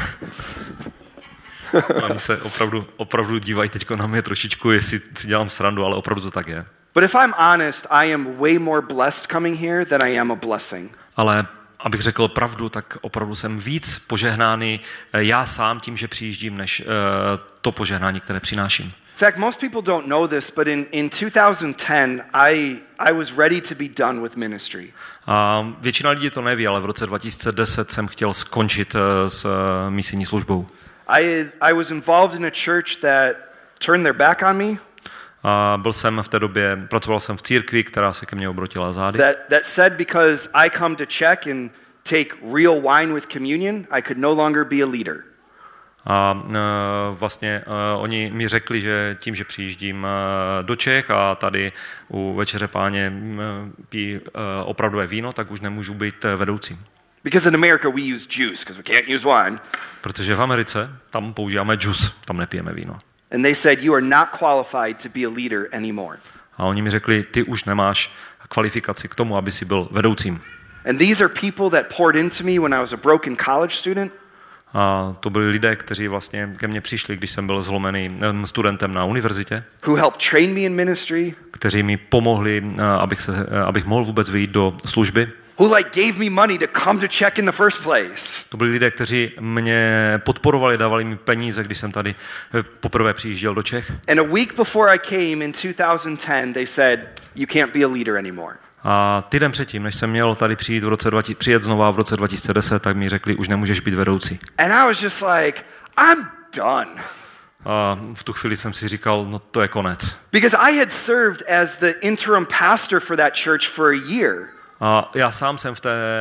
Oni se opravdu dívají teď na mě trošičku, jestli si dělám srandu, ale opravdu to tak je. But if I'm honest, I am way more blessed coming here than I am a blessing. Ale abych řekl pravdu, tak opravdu jsem víc požehnáný já sám tím, že přijíždím, než to požehnání, které přináším. In fact, most people don't know this, but in 2010, I was ready to be done with ministry. A většina lidí to neví, ale v roce 2010 jsem chtěl skončit s misijní službou. I was involved in a church that turned their back on me. A byl jsem v té době, pracoval jsem v církvi, která se ke mně obrotila zády. That said, because I come to Czech and take real wine with communion, I could no longer be a leader. A vlastně oni mi řekli, že tím, že přijíždím do Čech a tady u Večeře Páně pijí opravdové víno, tak už nemůžu být vedoucím. Because in America we use juice because we can't use wine. Protože v Americe tam používáme džus, tam nepijeme víno. And they said you are not qualified to be a leader anymore. A oni mi řekli, ty už nemáš kvalifikaci k tomu, aby si byl vedoucím. And these are people that poured into me when I was a broken college student. A to byli lidé, kteří vlastně ke mně přišli, když jsem byl zlomený studentem na univerzitě. Who helped train me in ministry. Kteří mi pomohli, abych mohl vůbec vyjít do služby. Who gave me money to come to Czech in the first place. To byli lidé, kteří mě podporovali, dávali mi peníze, když jsem tady poprvé přijížděl do Čech. And a week before I came in 2010, they said you can't be a leader anymore. A týden předtím, než jsem měl tady přijet znova v roce 2010, tak mi řekli, už nemůžeš být vedoucí. And I was just like, I'm done. A v tu chvíli jsem si říkal, no to je konec. Because I had served as the interim pastor for that church for a year. A já sám jsem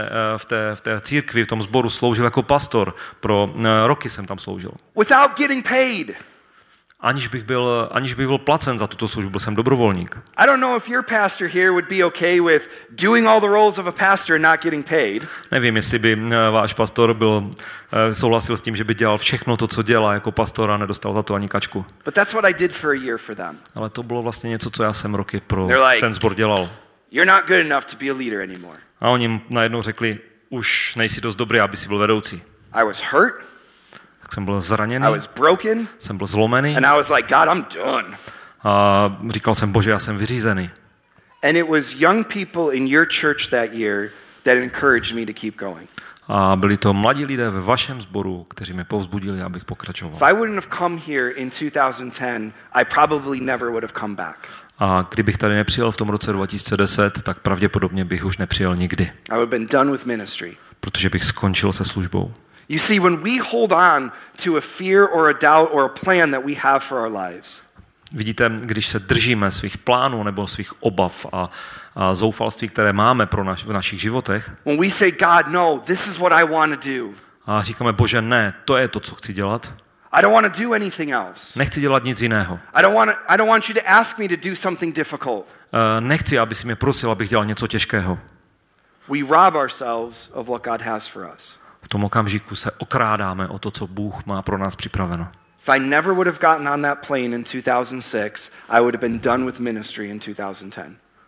v té církvi, v tom sboru sloužil jako pastor. Roky jsem tam sloužil. Without getting paid. Aniž bych byl placen za tuto službu, byl jsem dobrovolník. I don't know if your pastor here would be okay with doing all the roles of a pastor and not getting paid. Nevím, jestli by váš pastor souhlasil s tím, že by dělal všechno to, co dělá jako pastor a nedostal za to ani kačku. But that's what I did for a year for them. Ale to bylo vlastně něco, co já jsem roky pro ten sbor dělal. You're not good enough to be a leader anymore. A oni najednou řekli, už nejsi dost dobrý, aby si byl vedoucí. I was hurt. Tak jsem byl zraněný. I was broken. Jsem byl zlomený. And I was like, God, I'm done. A říkal jsem, Bože, já jsem vyřízený. And it was young people in your church that year that encouraged me to keep going. A byli to mladí lidé ve vašem sboru, kteří mě povzbudili, abych pokračoval. If I wouldn't have come here in 2010, I probably never would have come back. A kdybych tady nepřijel v tom roce 2010, tak pravděpodobně bych už nepřijel nikdy. I would have been done with ministry. Protože bych skončil se službou. You see, when we hold on to a fear or a doubt or a plan that we have for our lives. Vidíte, když se držíme svých plánů nebo svých obav a zoufalství, které máme v našich životech. When we say, God, no, this is what I want to do. A říkáme, Bože, ne, to je to, co chci dělat. I don't want to do anything else. Nechci dělat nic jiného. I don't want you to ask me to do something difficult. Nechci, aby si mě prosil, abych dělal něco těžkého. We rob ourselves of what God has for us. V tom okamžiku se okrádáme o to, co Bůh má pro nás připraveno. If I never would have gotten on that plane in 2006, I would have been done with ministry in 2010.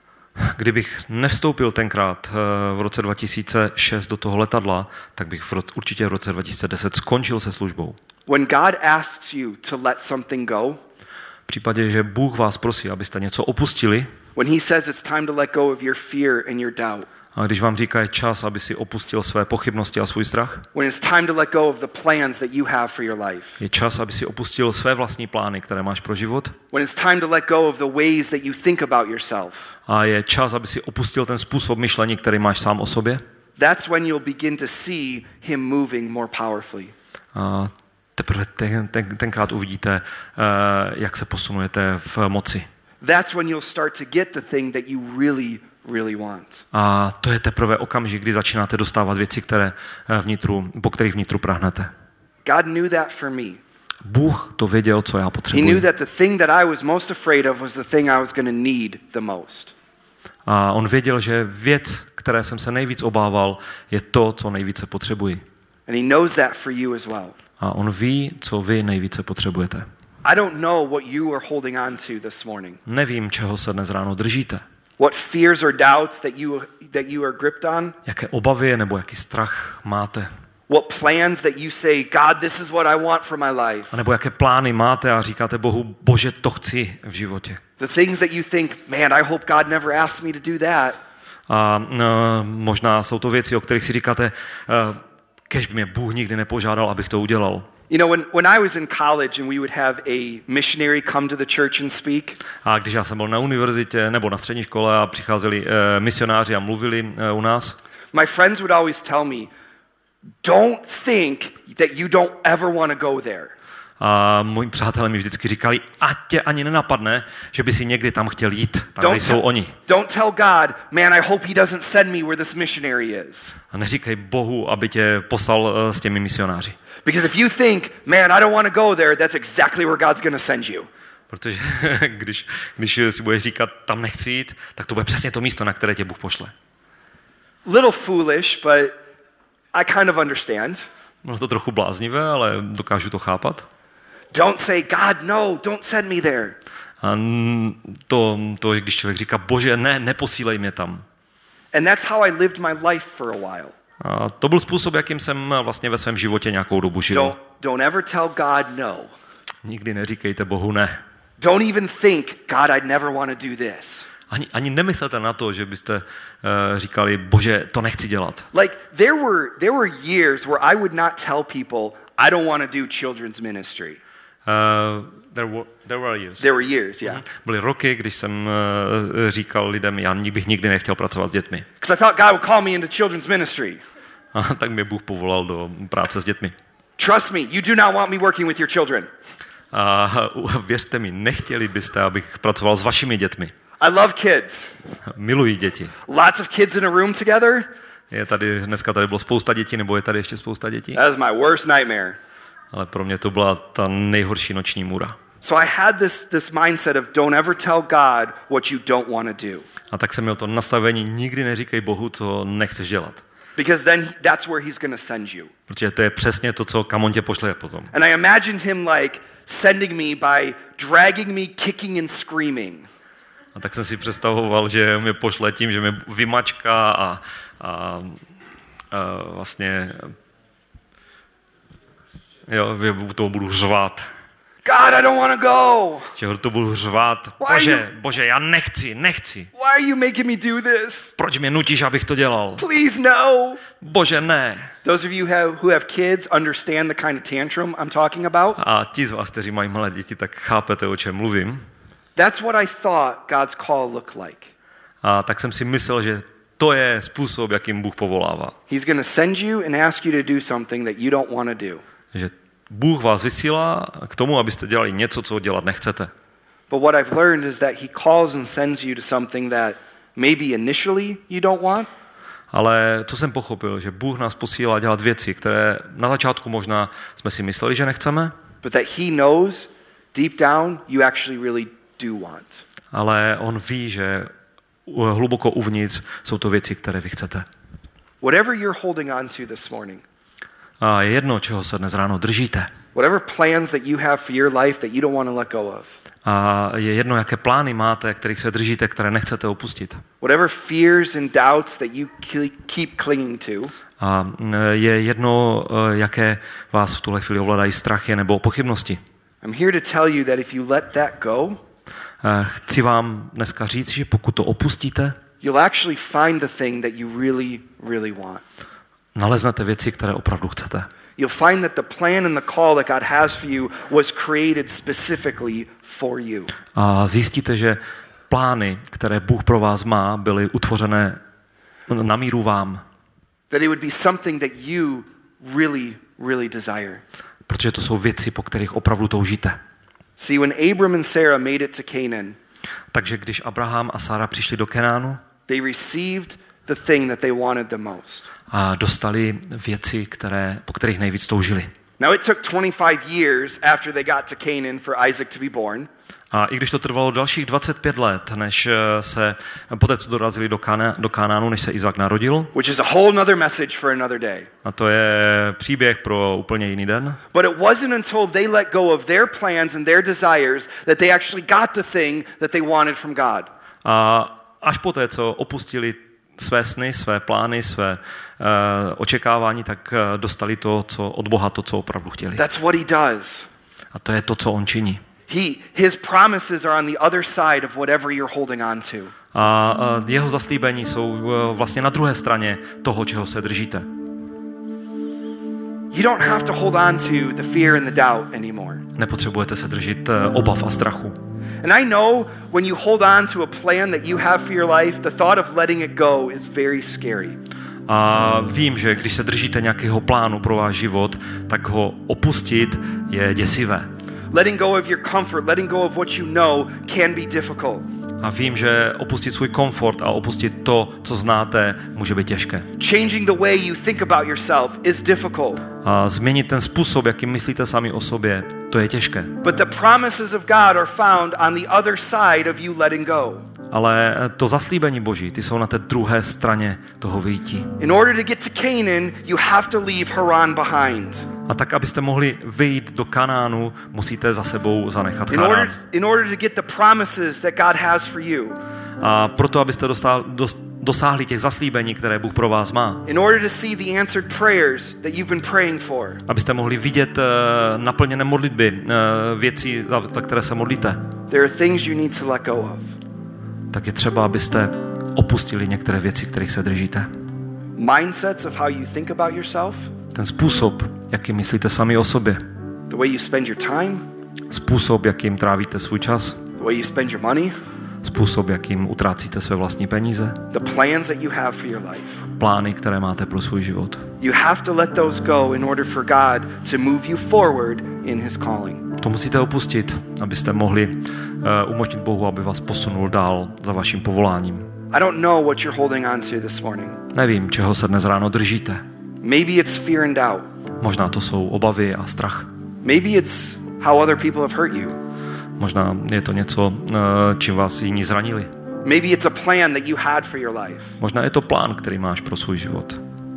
Kdybych nevstoupil tenkrát v roce 2006 do toho letadla, tak bych určitě v roce 2010 skončil se službou. When God asks you to let something go, v případě, že Bůh vás prosí, abyste něco opustili, when he says it's time to let go of your fear and your doubt, a když vám říká, je čas, aby si opustil své pochybnosti a svůj strach, when it's time to let go of the plans that you have for your life, je čas, aby si opustil své vlastní plány, které máš pro život, when it's time to let go of the ways that you think about yourself, a je čas, aby si opustil ten způsob myšlení, který máš sám o sobě, that's when you'll begin to see him moving more powerfully. A teprve tenkrát uvidíte, jak se posunujete v moci. That's when you'll start to get the thing that you really want. A to je teprve okamžik, kdy začínáte dostávat věci, po kterých vnitru prahnete. God knew that for me. Bůh to věděl, co já potřebuji. He knew that the thing that I was most afraid of was the thing I was going to need the most. A on věděl, že věc, které jsem se nejvíc obával, je to, co nejvíce potřebuji. And he knows that for you as well. A on ví, co vy nejvíce potřebujete. I don't know what you are holding on to this morning. Nevím, čeho se dnes ráno držíte. What fears or doubts that you are gripped on? Jaké obavy nebo jaký strach máte? What plans that you say, God, this is what I want for my life? A nebo jaké plány máte a říkáte Bohu, Bože, to chci v životě. The things that you think, man, I hope God never asked me to do that. A možná jsou to věci, o kterých si říkáte, kež by mě Bůh nikdy nepožádal, abych to udělal. You know, when I was in college and we would have a missionary come to the church and speak. A když já jsem byl na univerzitě nebo na střední škole a přicházeli misionáři a mluvili u nás, my friends would always tell me, don't think that you don't ever want to go there. A moji přátelé mi vždycky říkali, ať tě ani nenapadne, že by si někdy tam chtěl jít. Tam nejsou oni. Don't tell God, man, I hope he doesn't send me where this missionary is. A neříkej Bohu, aby tě poslal s těmi misionáři. Because if you think, man, I don't want to go there, that's exactly where God's going to send you. Protože když si budeš říkat, tam nechci jít, tak to bude přesně to místo, na které tě Bůh pošle. Little foolish, but I kind of understand. Bylo to trochu bláznivé, ale dokážu to chápat. Don't say, God, no, don't send me there. A to, když člověk říká, Bože, ne, neposílej mě tam. And that's how I lived my life for a while. A to byl způsob, jakým jsem vlastně ve svém životě nějakou dobu žil. Don't ever tell God no. Nikdy neříkejte Bohu ne. Don't even think, God, I'd never want to do this. Ani nemyslete na to, že byste říkali, Bože, to nechci dělat. Like there were years where I would not tell people I don't want to do children's ministry. There were years. There were years, yeah. Byly roky, když jsem říkal lidem, já bych nikdy nechtěl pracovat s dětmi. Because I thought God would call me into children's ministry. A tak mě Bůh povolal do práce s dětmi. Trust me, you do not want me working with your children. A věřte mi, nechtěli byste, abych pracoval s vašimi dětmi. I love kids. Miluji děti. Lots of kids in a room together. Dneska tady bylo spousta dětí, nebo je tady ještě spousta dětí? That is my worst nightmare. Ale pro mě to byla ta nejhorší noční můra. So I had this mindset of don't ever tell God what you don't want to do. A tak jsem měl to nastavení, nikdy neříkej Bohu, co nechceš dělat. Because then that's where he's going to send you. Protože to je přesně to, kam on tě pošle potom. And I imagined him like sending me by dragging me, kicking and screaming. A tak jsem si představoval, že mě pošle tím, že mě vymačká a vlastně to budu řvát. God, I don't want to go. Že to budu řvát. Bože, já nechci. Why are you making me do this? Proč mě nutíš, abych to dělal? Please no. Bože, ne. Those of you who have kids understand the kind of tantrum I'm talking about. A ti z vás, kteří mají malé děti, tak chápete, o čem mluvím. That's what I thought God's call looked like. A tak jsem si myslel, že to je způsob, jakým Bůh povolává. He's going to send you and ask you to do something that you don't want to do. Že Bůh vás vysílá k tomu, abyste dělali něco, co dělat nechcete. But what I've learned is that he calls and sends you to something that maybe initially you don't want. Ale co jsem pochopil, že Bůh nás posílá dělat věci, které na začátku možná jsme si mysleli, že nechceme. But that he knows deep down you actually really do want. Ale on ví, že hluboko uvnitř jsou to věci, které vy chcete. Whatever you're holding on to this morning. A je jedno, čeho se dnes ráno držíte. Whatever plans that you have for your life that you don't want to let go of. A je jedno, jaké plány máte, kterých se držíte, které nechcete opustit. Whatever fears and doubts that you keep clinging to. A je jedno, jaké vás v tuhle chvíli ovládají strachy nebo pochybnosti. I'm here to tell you that if you let that go, chci vám dneska říct, že pokud to opustíte, you'll actually find the thing that you really, really want. Naleznete věci, které opravdu chcete. You'll find that the plan and the call that God has for you was created specifically for you. A zjistíte, že plány, které Bůh pro vás má, byly utvořené na míru vám. That it would be something that you really, really desire. Protože to jsou věci, po kterých opravdu toužíte. See, when Abram and Sarah made it to Canaan, takže když Abraham a Sára přišli do Kenánu, they received the thing that they wanted the most. A dostali věci, po kterých nejvíc toužili. Now it took 25 years after they got to Canaan for Isaac to be born. A i když to trvalo dalších 25 let, než se poté, co dorazili do Kanánu, než se Izák narodil. Which is a whole other message for another day. A to je příběh pro úplně jiný den. But it wasn't until they let go of their plans and their desires that they actually got the thing that they wanted from God. A až poté, co opustili své sny, své plány, své očekávání, tak dostali to, co od Boha, to, co opravdu chtěli. That's what he does. A to je to, co on činí. His promises are on the other side of whatever you're holding on to. A jeho zaslíbení jsou vlastně na druhé straně toho, čeho se držíte. You don't have to hold on to the fear and the doubt anymore. Nepotřebujete se držet obav a strachu. And I know when you hold on to a plan that you have for your life, the thought of letting it go is very scary. A vím, že když se držíte nějakého plánu pro váš život, tak ho opustit je děsivé. Letting go of your comfort, letting go of what you know can be difficult. A vím, že opustit svůj komfort a opustit to, co znáte, může být těžké. Changing the way you think about yourself is difficult. A změnit ten způsob, jakým myslíte sami o sobě, to je těžké. But the promises of God are found on the other side of you letting go. Ale to zaslíbení Boží, ty jsou na té druhé straně toho vyjítí. In order to get to Canaan, you have to leave Haran behind. A tak, abyste mohli vyjít do Kanánu, musíte za sebou zanechat Harán. In order to get the promises that God has for you. A proto, abyste dosáhli těch zaslíbení, které Bůh pro vás má. In order to see the answered prayers that you've been praying for. Abyste mohli vidět naplněné modlitby, věci, za které se modlíte. There are things you need to let go of. Tak je třeba, abyste opustili některé věci, kterých se držíte. Mindsets of how you think about yourself. Ten způsob, jakým myslíte sami o sobě. The way you spend your time. Způsob, jakým trávíte svůj čas. The way you spend your money. Způsob, jakým utrácíte své vlastní peníze. The plans that you have for your life. Plány, které máte pro svůj život. You have to let those go in order for God to move you forward in his calling. To musíte opustit, abyste mohli umožnit Bohu, aby vás posunul dál za vaším povoláním. I don't know what you're holding on to this morning. Nevím, čeho se dnes ráno držíte. Maybe it's fear and doubt. Možná to jsou obavy a strach. Maybe it's how other people have hurt you. Možná je to něco, čím vás jiní zranili. Maybe it's a plan that you had for your life. Možná je to plán, který máš pro svůj život.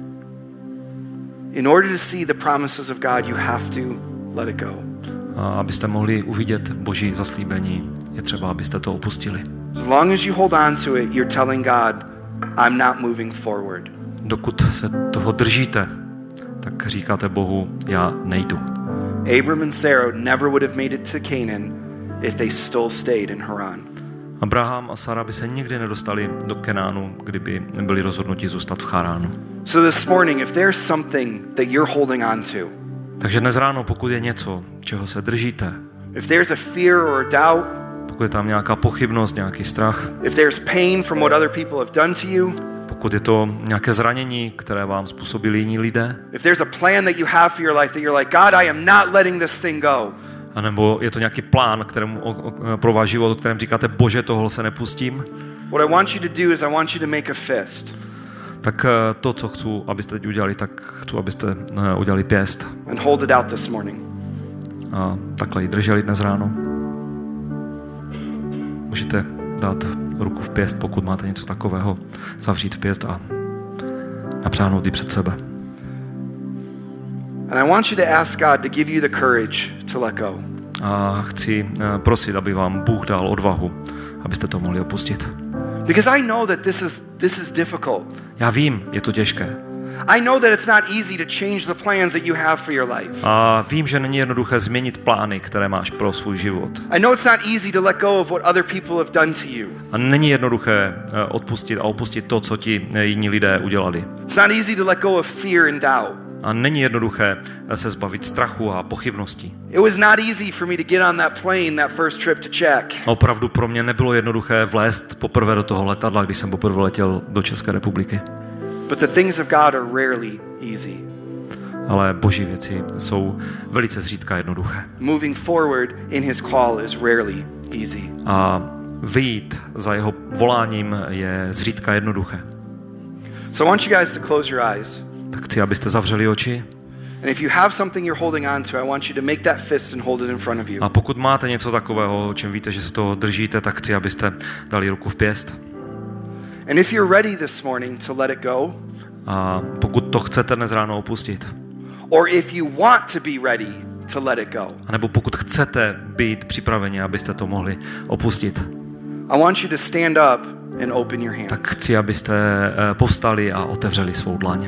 In order to see the promises of God, you have to let it go. A abyste mohli uvidět Boží zaslíbení, je třeba, abyste to opustili. As long as you hold on to it, you're telling God, I'm not moving forward. Dokud se toho držíte, tak říkáte Bohu, já nejdu. Abram and Sarah never would have made it to Canaan if they still stayed in Haran. Abraham a Sara by se nikdy nedostali do Kenánu, kdyby byli rozhodnuti zůstat v Charánu. So this morning, if there's something that you're holding on to, takže dnes ráno, pokud je něco, čeho se držíte, if there's a fear or a doubt, pokud je tam nějaká pochybnost, nějaký strach, if there's pain from what other people have done to you, pokud je to nějaké zranění, které vám způsobili jiní lidé, if there's a plan that you have for your life that you're like, God, I am not letting this thing go. A nebo je to nějaký plán, pro váš život, o kterém říkáte, Bože, tohle se nepustím. What I want you to do is I want you to make a fist. Tak to, co chci, abyste teď udělali, tak chci, abyste udělali pěst. And hold it out this morning. A takhle ji drželi dnes ráno. Můžete dát ruku v pěst, pokud máte něco takového, zavřít v pěst a napřáhnout ji před sebe. And I want you to ask God to give you the courage to let go. A chci prosit, aby vám Bůh dal odvahu, abyste to mohli opustit. Because I know that this is difficult. Já vím, je to těžké. I know that it's not easy to change the plans that you have for your life. A vím, že není jednoduché změnit plány, které máš pro svůj život. I know it's not easy to let go of what other people have done to you. A není jednoduché odpustit a opustit to, co ti jiní lidé udělali. It's not easy to let go of fear and doubt. A není jednoduché se zbavit strachu a pochybností. It was not easy for me to get on that plane that first trip to Czech. Opravdu pro mě nebylo jednoduché vlézt poprvé do toho letadla, když jsem poprvé letěl do České republiky. But the things of God are rarely easy. Ale Boží věci jsou velice zřídka jednoduché. Moving forward in his call is rarely easy. A vyjít za jeho voláním je zřídka jednoduché. So I want you guys to close your eyes. Tak chci, abyste zavřeli oči. And if you have something you're holding on to, I want you to make that fist and hold it in front of you. A pokud máte něco takového, o čem víte, že se toho držíte, tak chci, abyste dali ruku v pěst. And if you're ready this morning to let it go, a pokud to chcete dnes ráno opustit, or if you want to be ready to let it go, a nebo pokud chcete být připraveni, abyste to mohli opustit, I want you to stand up and open your hand. tak chci, abyste povstali a otevřeli svou dlaň.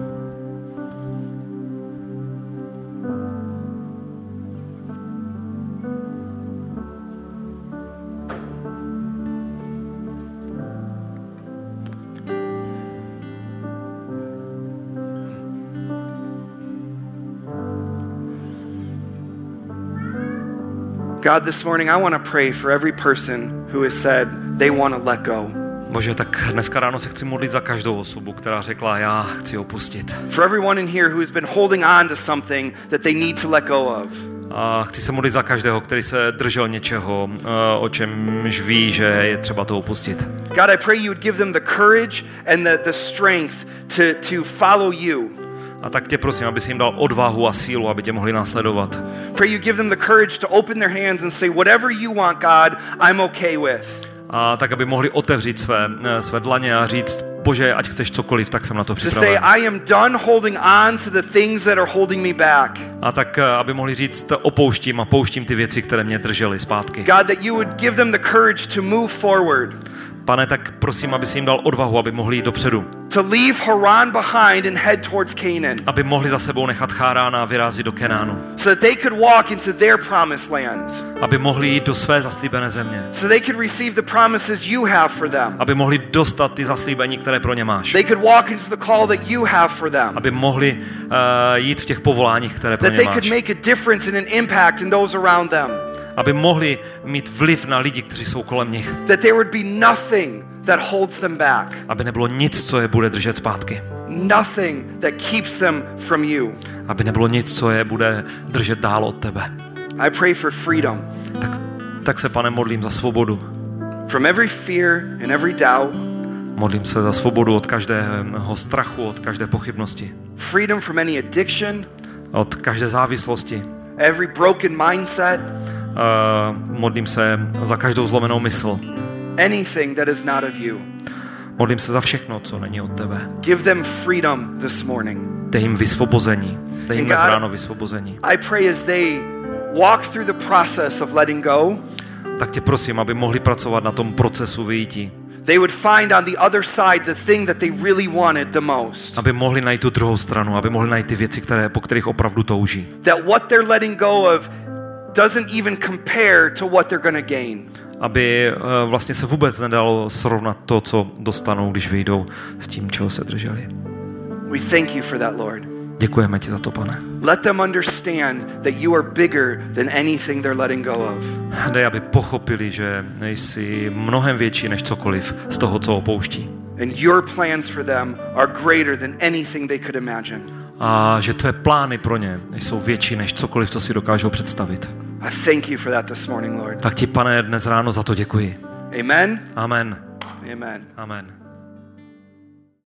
God, this morning I want to pray for every person who has said they want to let go. Bože, tak dneska ráno se chci modlit za každou osobu, která řekla, já chci opustit. For everyone in here who has been holding on to something that they need to let go of. A chci se modlit za každého, který se držel něčeho, o čemž ví, že je třeba to opustit. God, I pray you would give them the courage and the strength to follow you. A tak tě prosím, aby si jim dal odvahu a sílu, aby tě mohli následovat. Pray you give them the courage to open their hands and say, whatever you want, God, I'm okay with. A tak, aby mohli otevřít své dlaně a říct, Bože, ať chceš cokoliv, tak jsem na to To say, připraven. I am done holding on to the things that are holding me back. A tak, aby mohli říct, opouštím a pouštím ty věci, které mě držely zpátky. God, that you would give them the courage to move forward. Pane, tak prosím, aby si jim dal odvahu, aby mohli jít dopředu. To leave Haran behind and head towards Canaan. Aby mohli za sebou nechat Chárána a vyrazit do Kenánu. So that they could walk into their promised land. Aby mohli jít do své zaslíbené země. So they could receive the promises you have for them. Aby mohli dostat ty zaslíbení, které pro ně máš. They could walk into the call that you have for them. Aby mohli jít v těch povoláních, které pro That ně they máš. could make a difference and an impact in those around them. Aby mohli mít vliv na lidi, kteří jsou kolem nich. That there would be nothing that holds them back. Aby nebylo nic, co je bude držet zpátky. Nothing that keeps them from you. Aby nebylo nic, co je bude držet dál od tebe. I pray for freedom. Tak se, Pane, modlím za svobodu. From every fear and every doubt. Modlím se za svobodu od každého strachu, od každé pochybnosti. Freedom from any addiction. Od každé závislosti. Every broken mindset. Modlím se za každou zlomenou mysl. Anything that is not of you. Modlím se za všechno, co není od tebe. Give them freedom this morning. Dej jim vysvobození. Dej jim dnes ráno vysvobození. I pray as they walk through the process of letting go. Tak tě prosím, aby mohli pracovat na tom procesu vyjití. They would find on the other side the thing that they really wanted the most. Aby mohli najít tu druhou stranu, aby mohli najít ty věci, po kterých opravdu touží. That what they're letting go of doesn't even compare to what they're going to gain. Aby vlastně se vůbec nedalo srovnat to, co dostanou, když vyjdou s tím, čeho se drželi. We thank you for that, Lord. Děkujeme ti za to, Pane. Let them understand that you are bigger than anything they're letting go of. Dej, aby pochopili, že nejsi mnohem větší než cokoliv z toho, co opouští. And your plans for them are greater than anything they could imagine. A že tvé plány pro ně jsou větší než cokoliv, co si dokážou představit. I thank you for that this morning, Lord. Tak ti, Pane, dnes ráno za to děkuji. Amen. Amen. Amen. Amen.